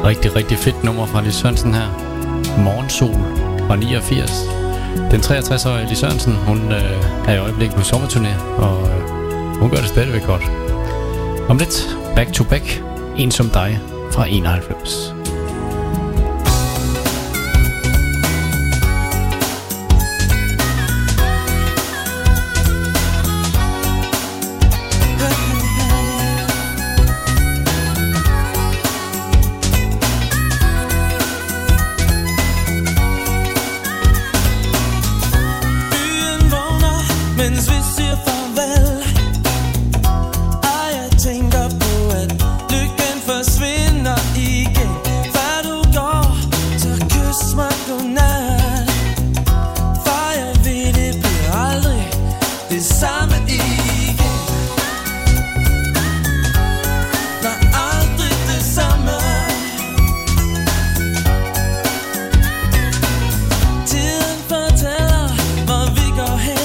rigtig, rigtig fedt nummer fra Lis Sørensen her. Morgensol fra 89. Den 63-årige Lis Sørensen, hun er i øjeblikket på sommerturné, og hun gør det stadigvæk godt. Om lidt, back to back, En som dig fra 91. Mens vi siger farvel, og jeg tænker på, at lykken forsvinder igen. Før du går, så kys mig godnat. For jeg ved, det bliver aldrig det samme igen. Nej, aldrig det samme. Tiden fortæller, hvor vi går hen.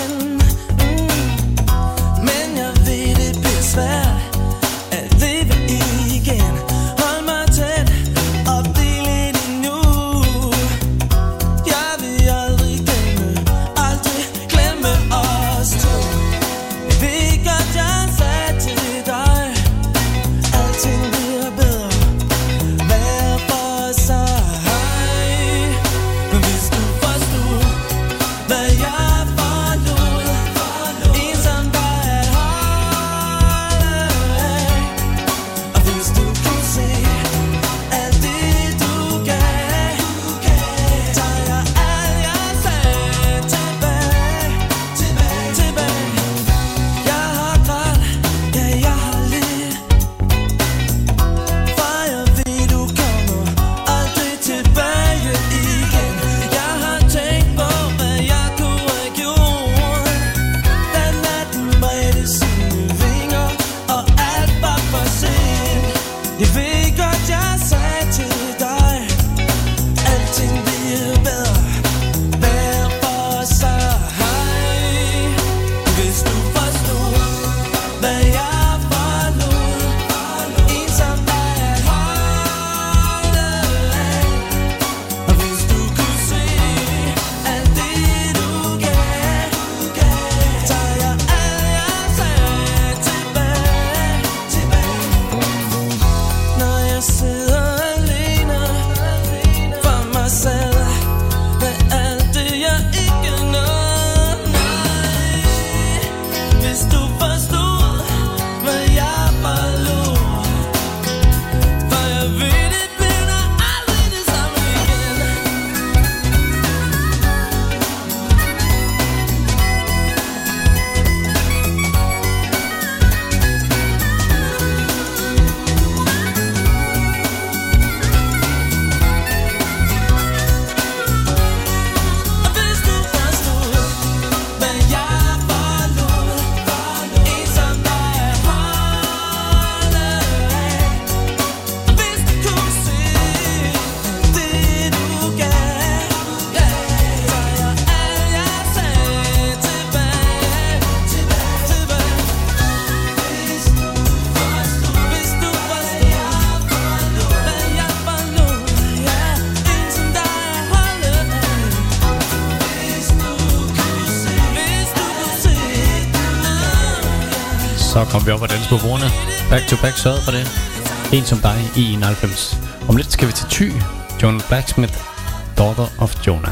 Så kom vi op og danse på bordene. Back to back sørgede for det. En som dig i 91. Om lidt skal vi til Thy. Jonah Blacksmith, Daughter of Jonah.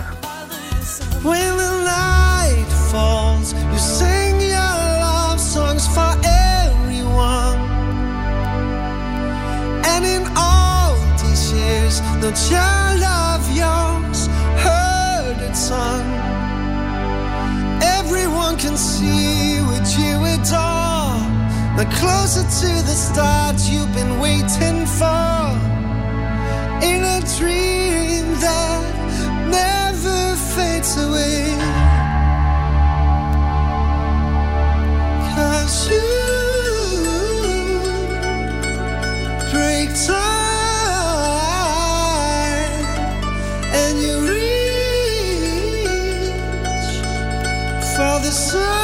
When the night falls, you sing your love songs for everyone. And in all these years, no child of yours heard it sung. Everyone can see what you adore. The closer to the start you've been waiting for. In a dream that never fades away. 'Cause you break time and you reach for the sun.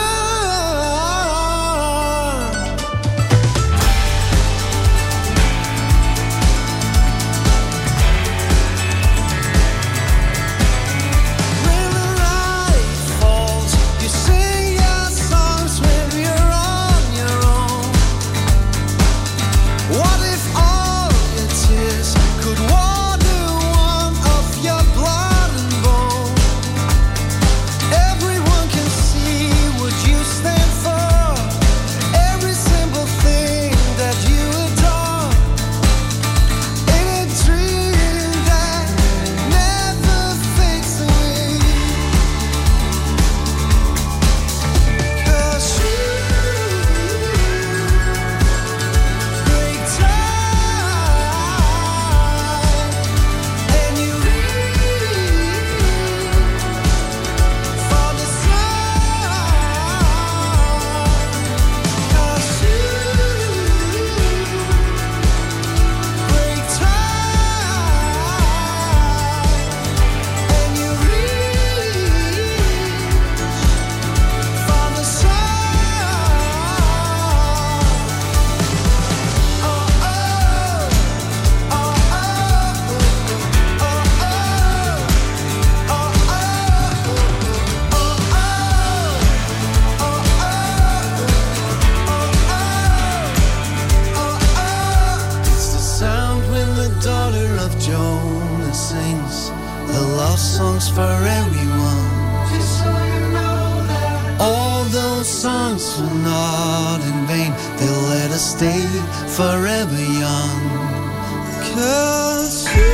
for everyone. Just so you know that all those songs were not in vain. They'll let us stay forever young. 'Cause you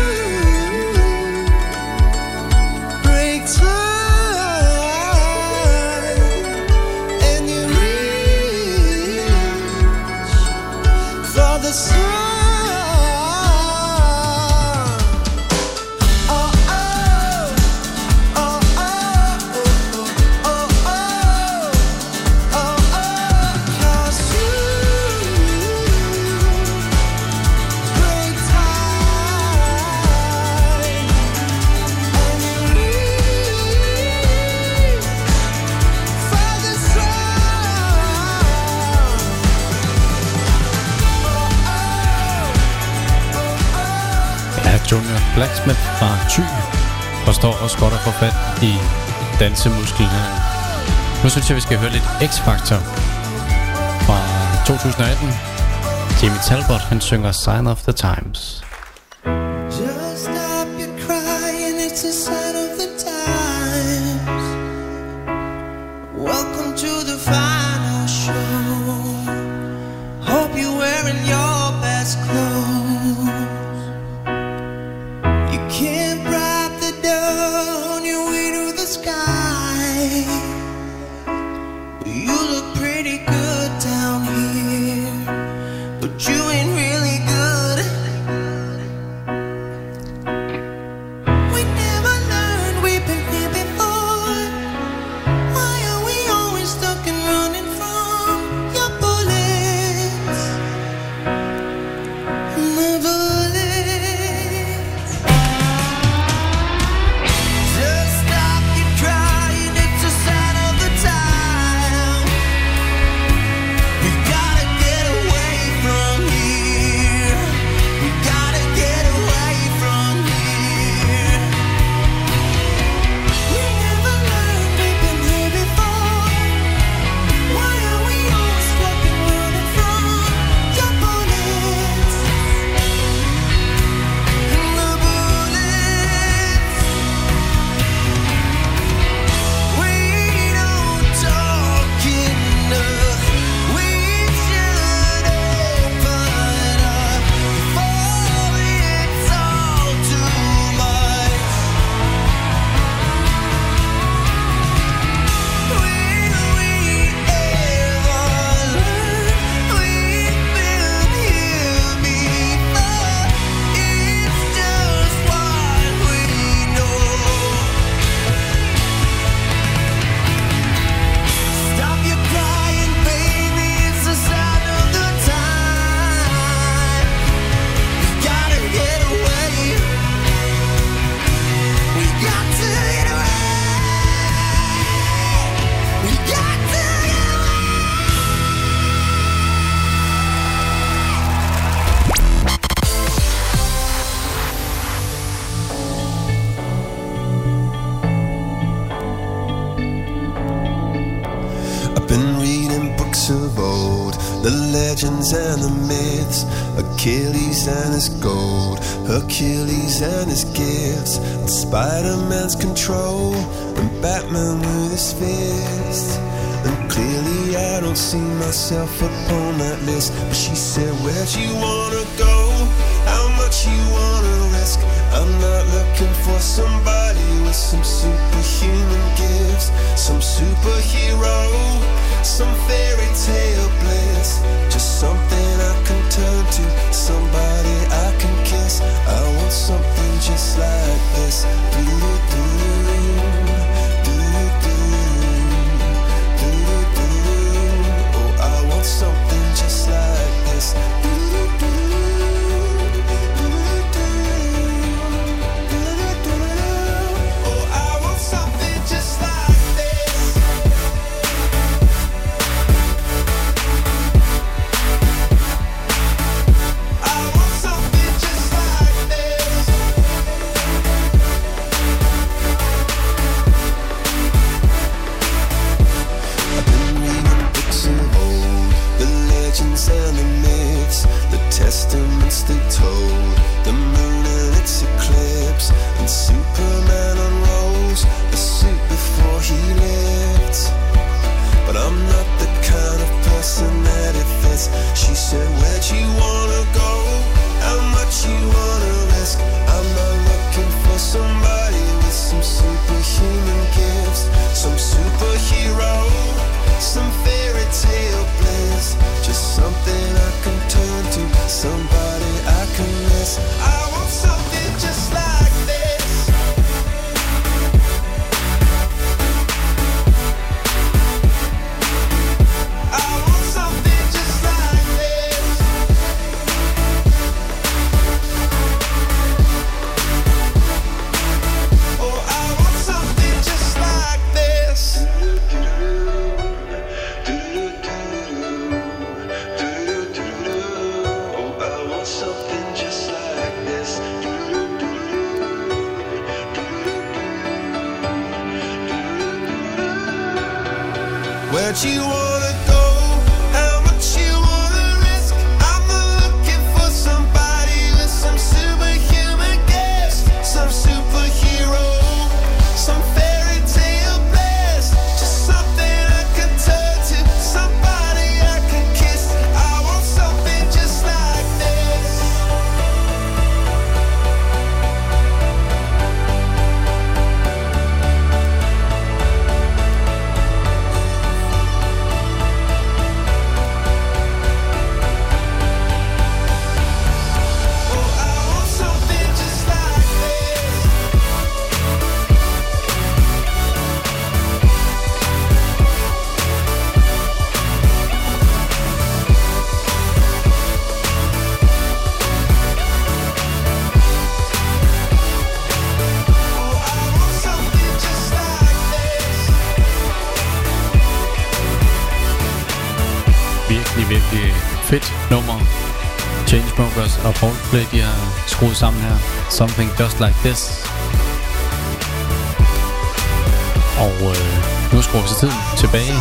break time and you reach for the sun. Junior Blacksmith fra Thy og står også godt at få fat i dansemusklen her. Nu synes jeg, vi skal høre lidt X-Factor fra 2018. Jimmy Talbot, han synger Sign of the Times. Just stop your crying, it's a sign of the times. Welcome to the final show. Hope you're wearing your best clothes. You can't bribe the dawn on your way to the sky. You look pretty good down here, but you ain't really good. We never learned, we've been here before. Why are we always stuck and running from your bullets? The bullets. Just stop your crying, it's a sign of the time. We gotta get away from here. We gotta get away from here. We never learned, we've been here before. Why are we always stuck and running from your bullets? The bullets. We don't talk enough. We should open up before it's all too much. Will we ever learn? We've been here before. It's just what we know. Stop your crying, baby, it's a sign of the time. We gotta get away. We got to get away. We got to get away. I've been reading books of old, the legends and the myths, Achilles and his gold, Hercules and his gifts, and Spider-Man's control, and Batman with his fist. And clearly I don't see myself upon that list. But she said, where'd you wanna go? How much you wanna risk? I'm not looking for somebody with some superhuman gifts, some superhero, some fairy tale bliss. Just something I can turn to, somebody I can kiss. I want something just like this. Oh, I want something just like this. Oh, I want something just like this. I want something just like this. I've been reading books of old, the legends and the myths, the testaments they told, the moon and its eclipse, and Superman unrolled. Where'd you wanna go? How much you wanna risk? I'm not looking for somebody with some superhuman gifts, some superhero, some fairy tale bliss, just something I can turn to, somebody I can kiss. I want something just like this. Virkelig fedt nummer. Chainsmokers og Coldplay, de har skruet sammen her. Something Just Like This. Og nu skruer vi så tiden tilbage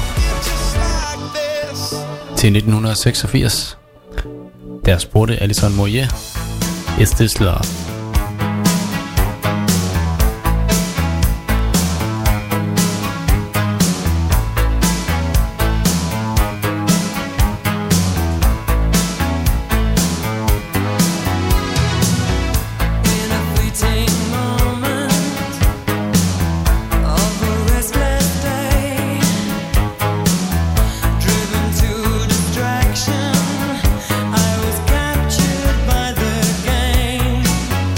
til 1986. Der spurgte Alison Moyet, Is This Love? I was captured by the game.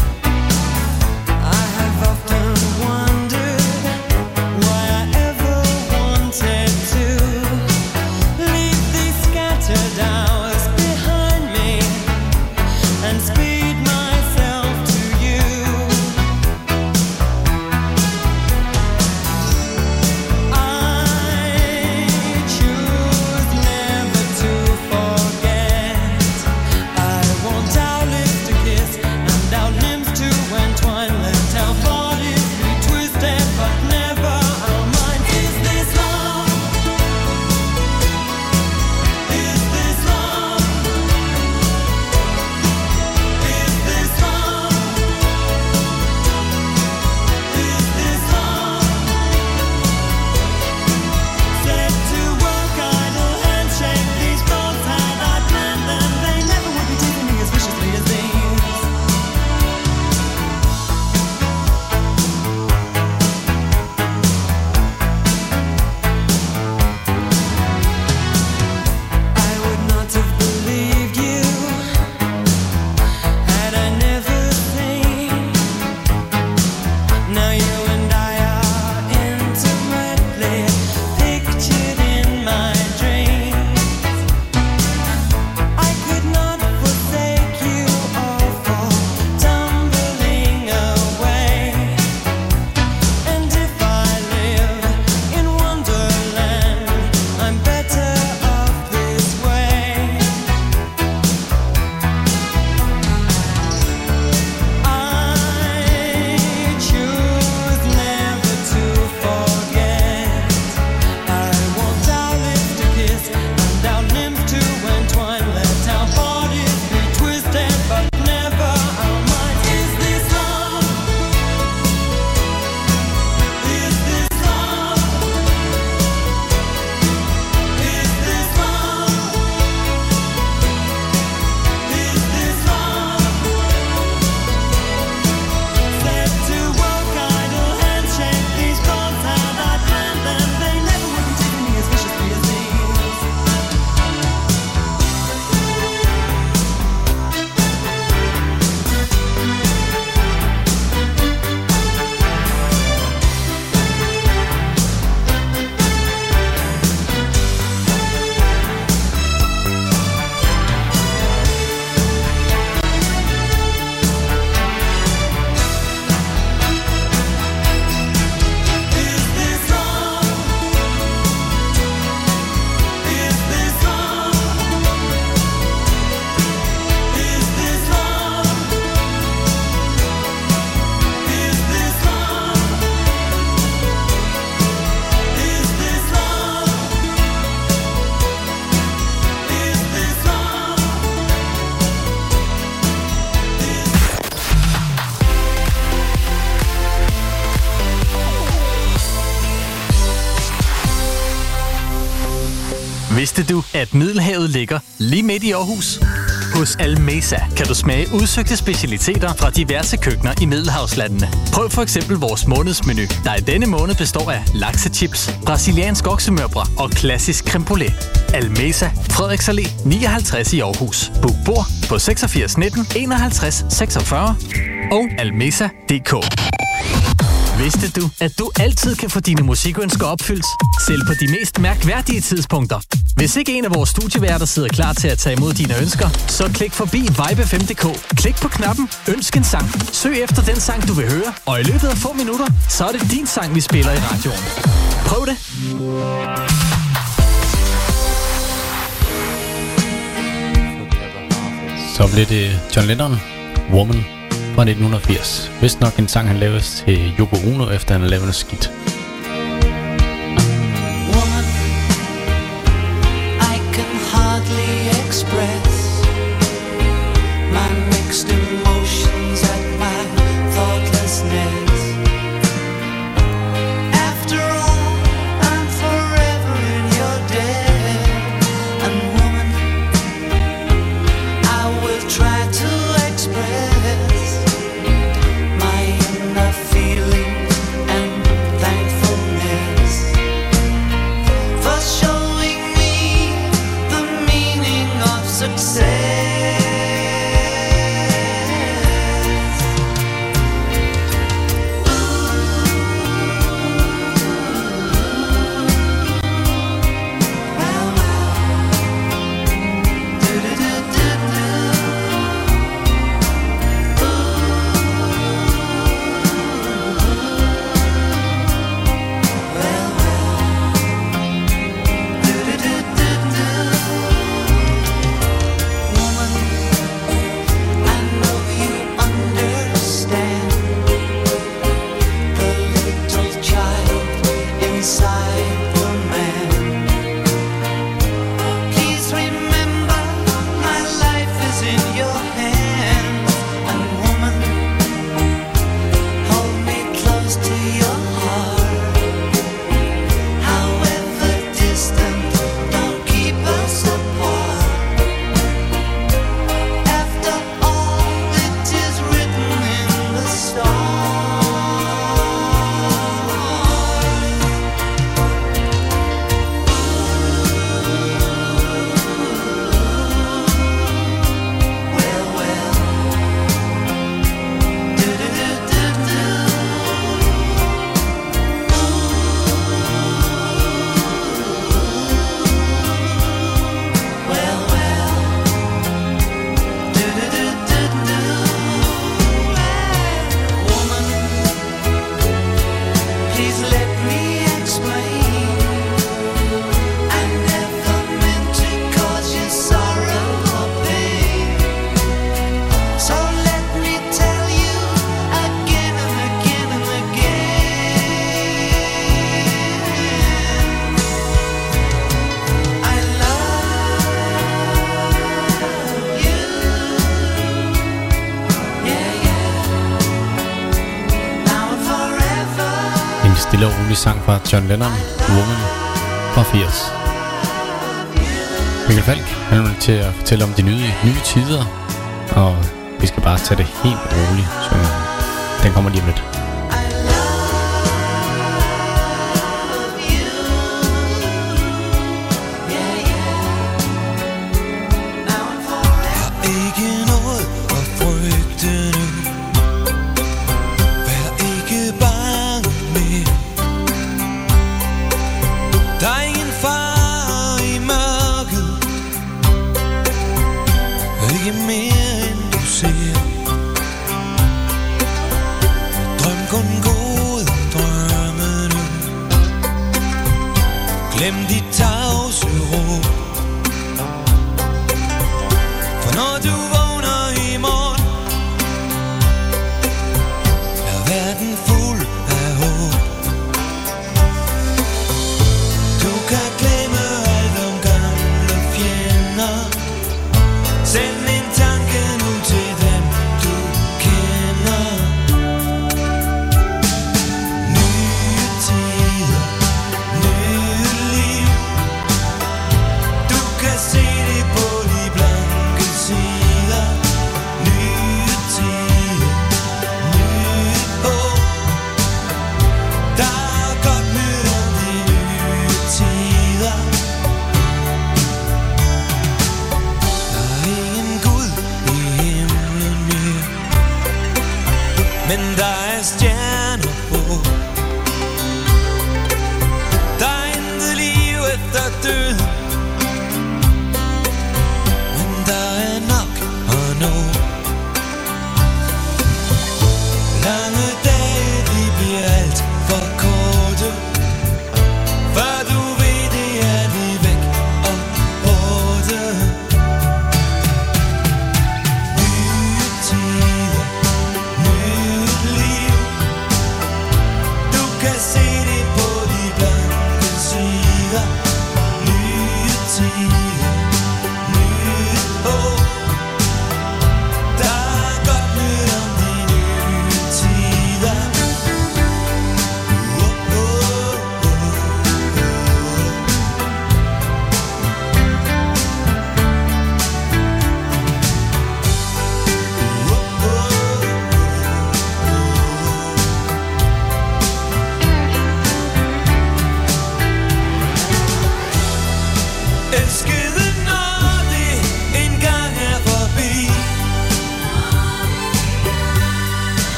Vidste du, at Middelhavet ligger lige midt i Aarhus? Hos Almesa kan du smage udsøgte specialiteter fra diverse køkkener i Middelhavslandene. Prøv for eksempel vores månedsmenu, der i denne måned består af laksechips, brasiliansk oksemørbrad og klassisk creme brûlée. Almesa, Frederiks Allé 59 i Aarhus. Book bord på 86 19 51 46 og almesa.dk. Vidste du, at du altid kan få dine musikønsker opfyldt, selv på de mest mærkværdige tidspunkter? Hvis ikke en af vores studieværter sidder klar til at tage imod dine ønsker, så klik forbi vibe5.dk. Klik på knappen Ønsk en sang. Søg efter den sang, du vil høre, og i løbet af få minutter, så er det din sang, vi spiller i radioen. Prøv det! Så blev det John Lennon, Woman fra 1980. Vist nok en sang, han lavede til Yoko Ono, efter han havde lavet noget skidt. Woman, I can hardly express my mixed emotions at my thoughtlessness. After all, I'm forever in your debt. And woman, I will try to express Stille og rolig sang fra John Lennon, Woman fra 80. Mikkel Falk, han vil til at fortælle om de nye tider, og vi skal bare tage det helt roligt, så den kommer lige om lidt. Glem de tavse råb. For når du vågner i morgen, er verden fuld af håb. Du kan glemme alt om gamle fjender. Send en tanke nu til dem du kender. Nye tider, nye liv.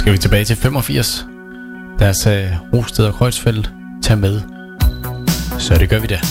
Skal vi tilbage til 85. Deres Rosted og Kreuzfeldt tager med. Så det gør vi da.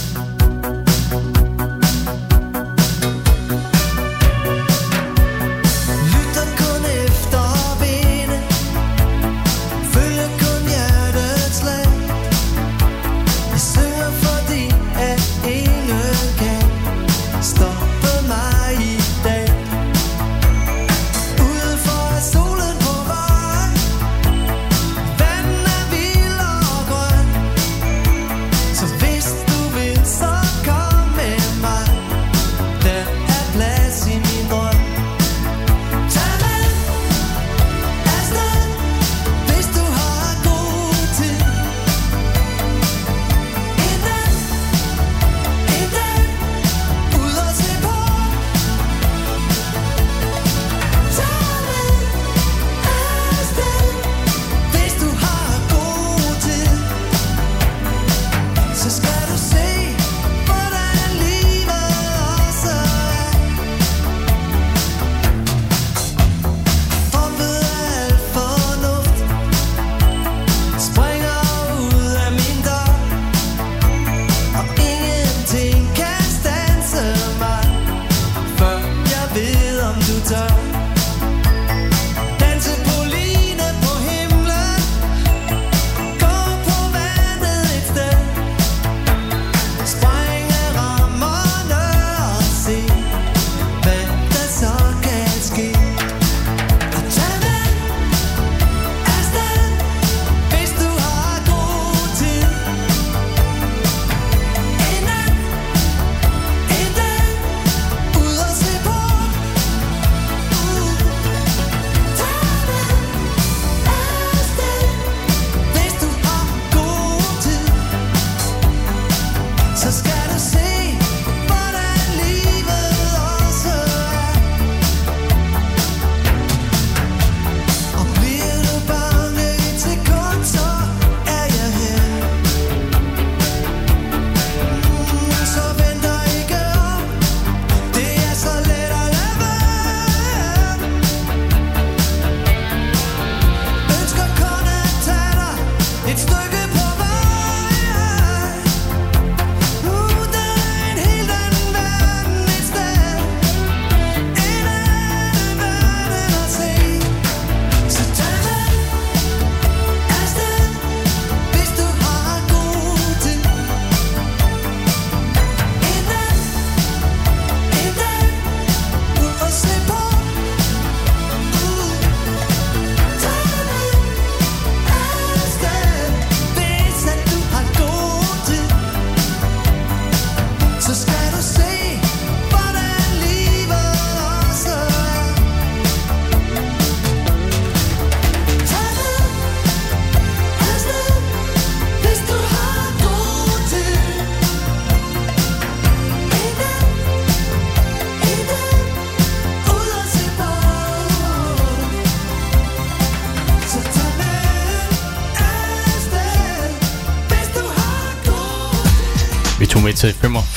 Med til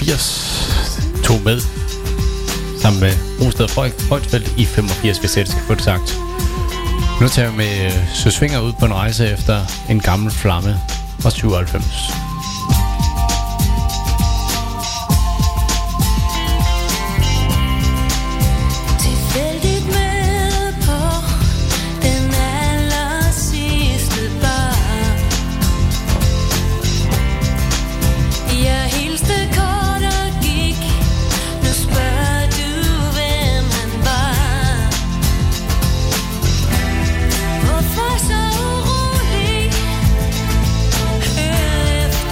85 tog med sammen med Rosted og Kreuzfeldt i 85, hvis jeg skal få det sagt. Nu tager vi med Søsvinger ud på en rejse efter en gammel flamme fra 97. Hvorfor så urolig?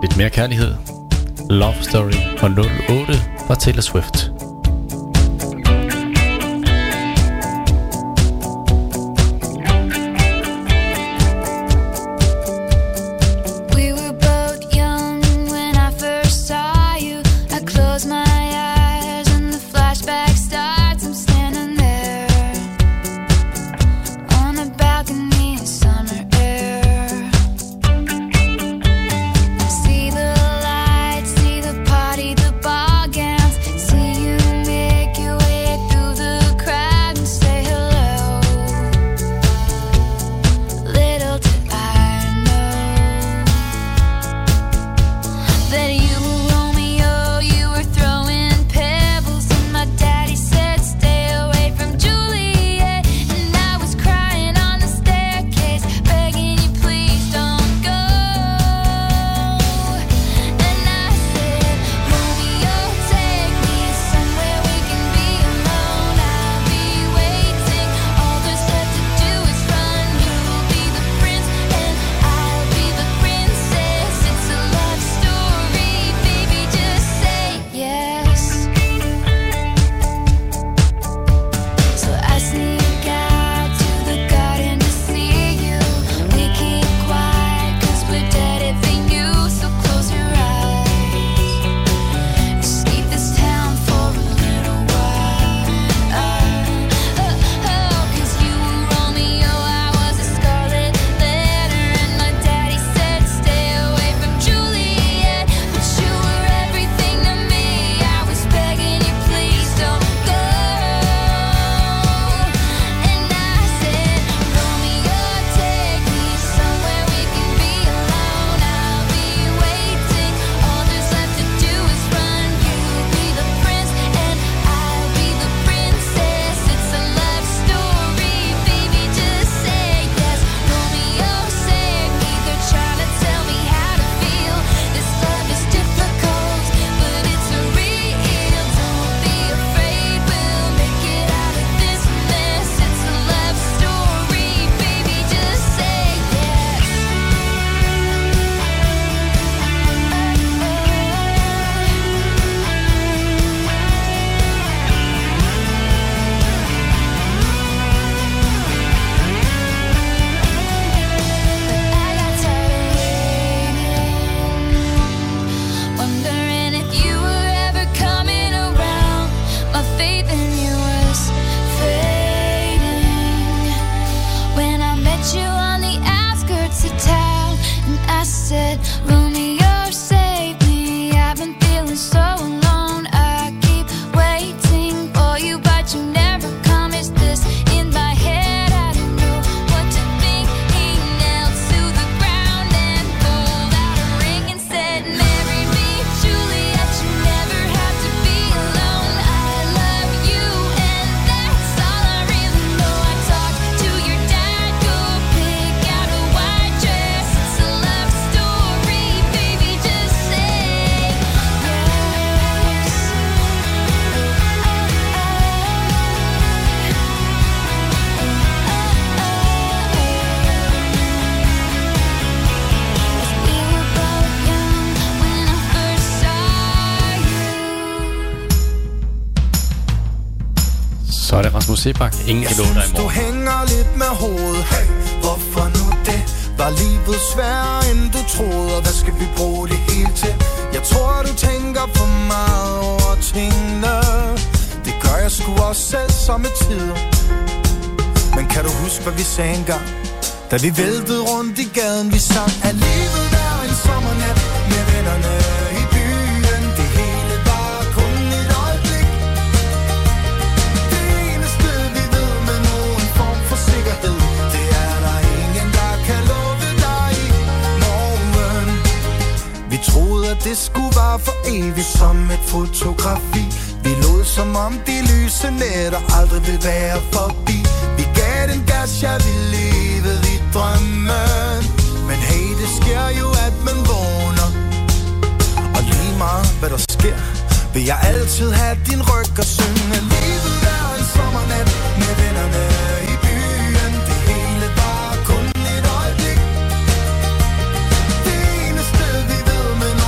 lidt mere kærlighed. Love Story fra 08 fra Taylor Swift. Så er det Rasmus Sebak. Ingen kan love dig i morgen. Du hænger lidt med hovedet. Hey, hvorfor nu det? Var livet sværere end du troede? Og hvad skal vi bruge det hele til? Jeg tror du tænker for meget over tingene. Det gør jeg sgu også selv somme tider. Men kan du huske hvad vi sagde engang? Da vi væltede rundt i gaden, vi sang at livet der en sommernat med vennerne i byen. Det hele var kun et øjeblik. Det eneste vi ved med nogen form for sikkerhed, det er der ingen der kan love dig i morgen. Vi troede at det skulle være for evigt som et fotografi. Vi lod som om de lyse nætter aldrig vil være forbi. Vi gav den gas, jeg ville leve i drømmen. Men hey, det sker jo, at man vågner. Og lige meget, hvad der sker, vil jeg altid have din ryg og synge. Livet er en sommernat med vennerne i byen. Det hele var kun et øjeblik. Det eneste vi ved med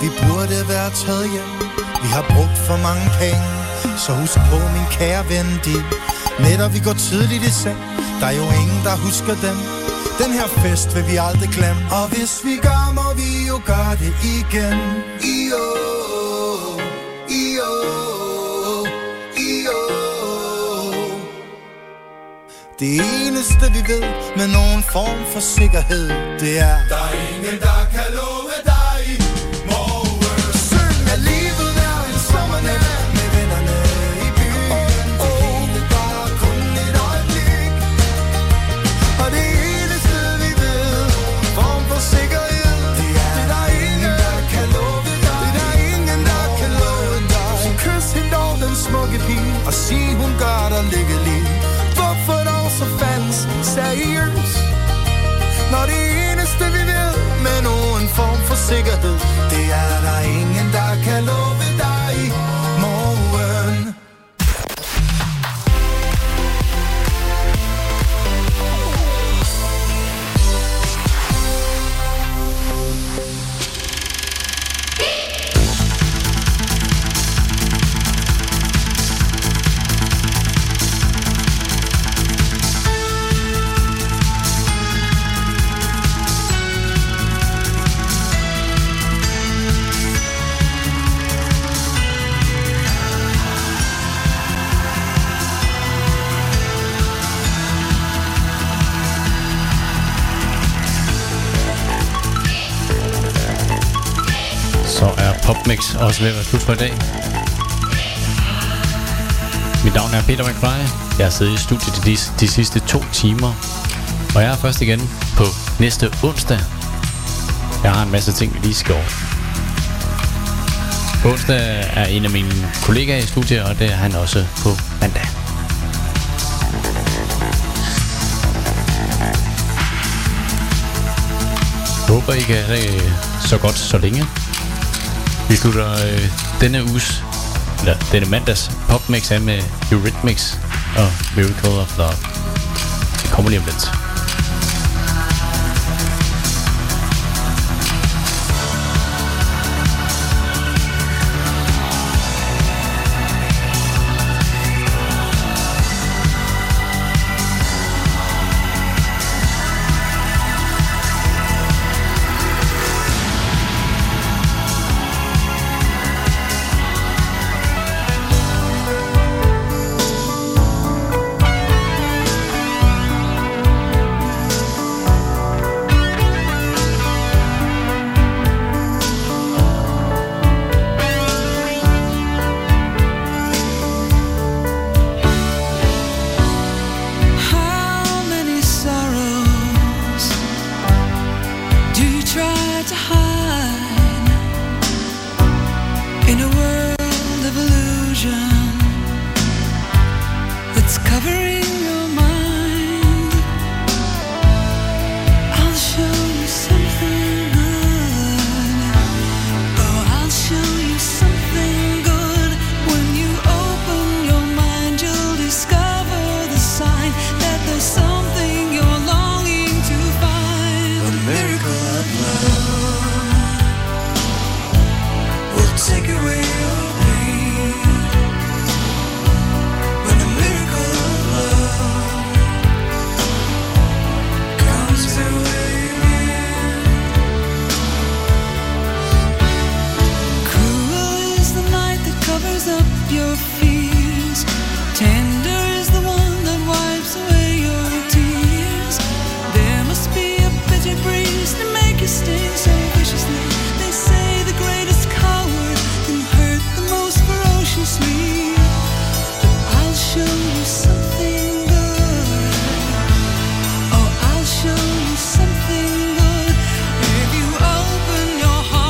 vi burde være taget hjem. Vi har brugt for mange penge, så husk på min kære ven, de nætter vi går tidligt i seng. Der er jo ingen, der husker dem. Den her fest vil vi aldrig glemme. Og hvis vi gør, må vi jo gøre det igen. Det eneste vi ved med nogen form for sikkerhed, det er: der er ingen, der kan love dig morgen. Syng, at livet er en sommernat med vennerne i byen. Det hele var kun et øjeblik. Og det eneste vi ved, form for sikkerhed, det er: der er ingen, der kan love dig. Det er der ingen, der kan love dig. Så kys hende over den smukke pige og sig, hun gør dig lykkelig. Hvorfor dog så falsk seriøs, når det eneste vi ved med nogen form for sikkerhed, det er der ingen, der kan love dig morgen. Popmix også ved at være slut for i dag. Mit navn er Peter McFly. Jeg har siddet i studiet de sidste 2 timer, og jeg er først igen på næste onsdag. Jeg har en masse ting, vi lige skal over. Onsdag er en af mine kollegaer i studiet, og det er han også på mandag. Jeg håber, I kan have det så godt så længe. Vi slutter denne mandags popmix af med Eurythmics og Miracle of Love. Det kommer lige om lidt.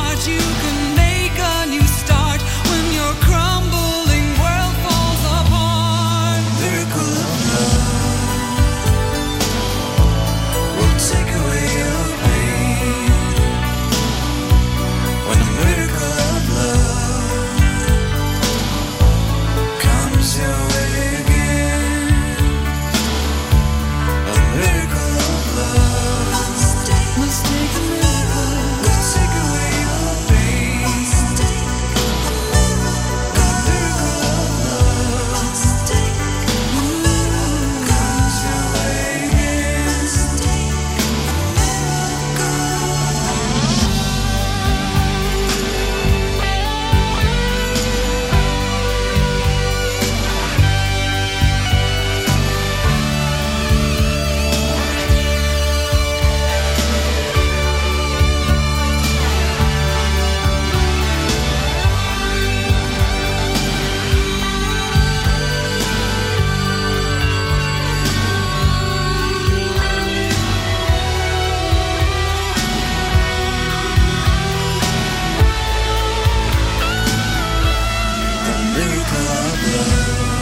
Crumbling world falls apart. maker of love.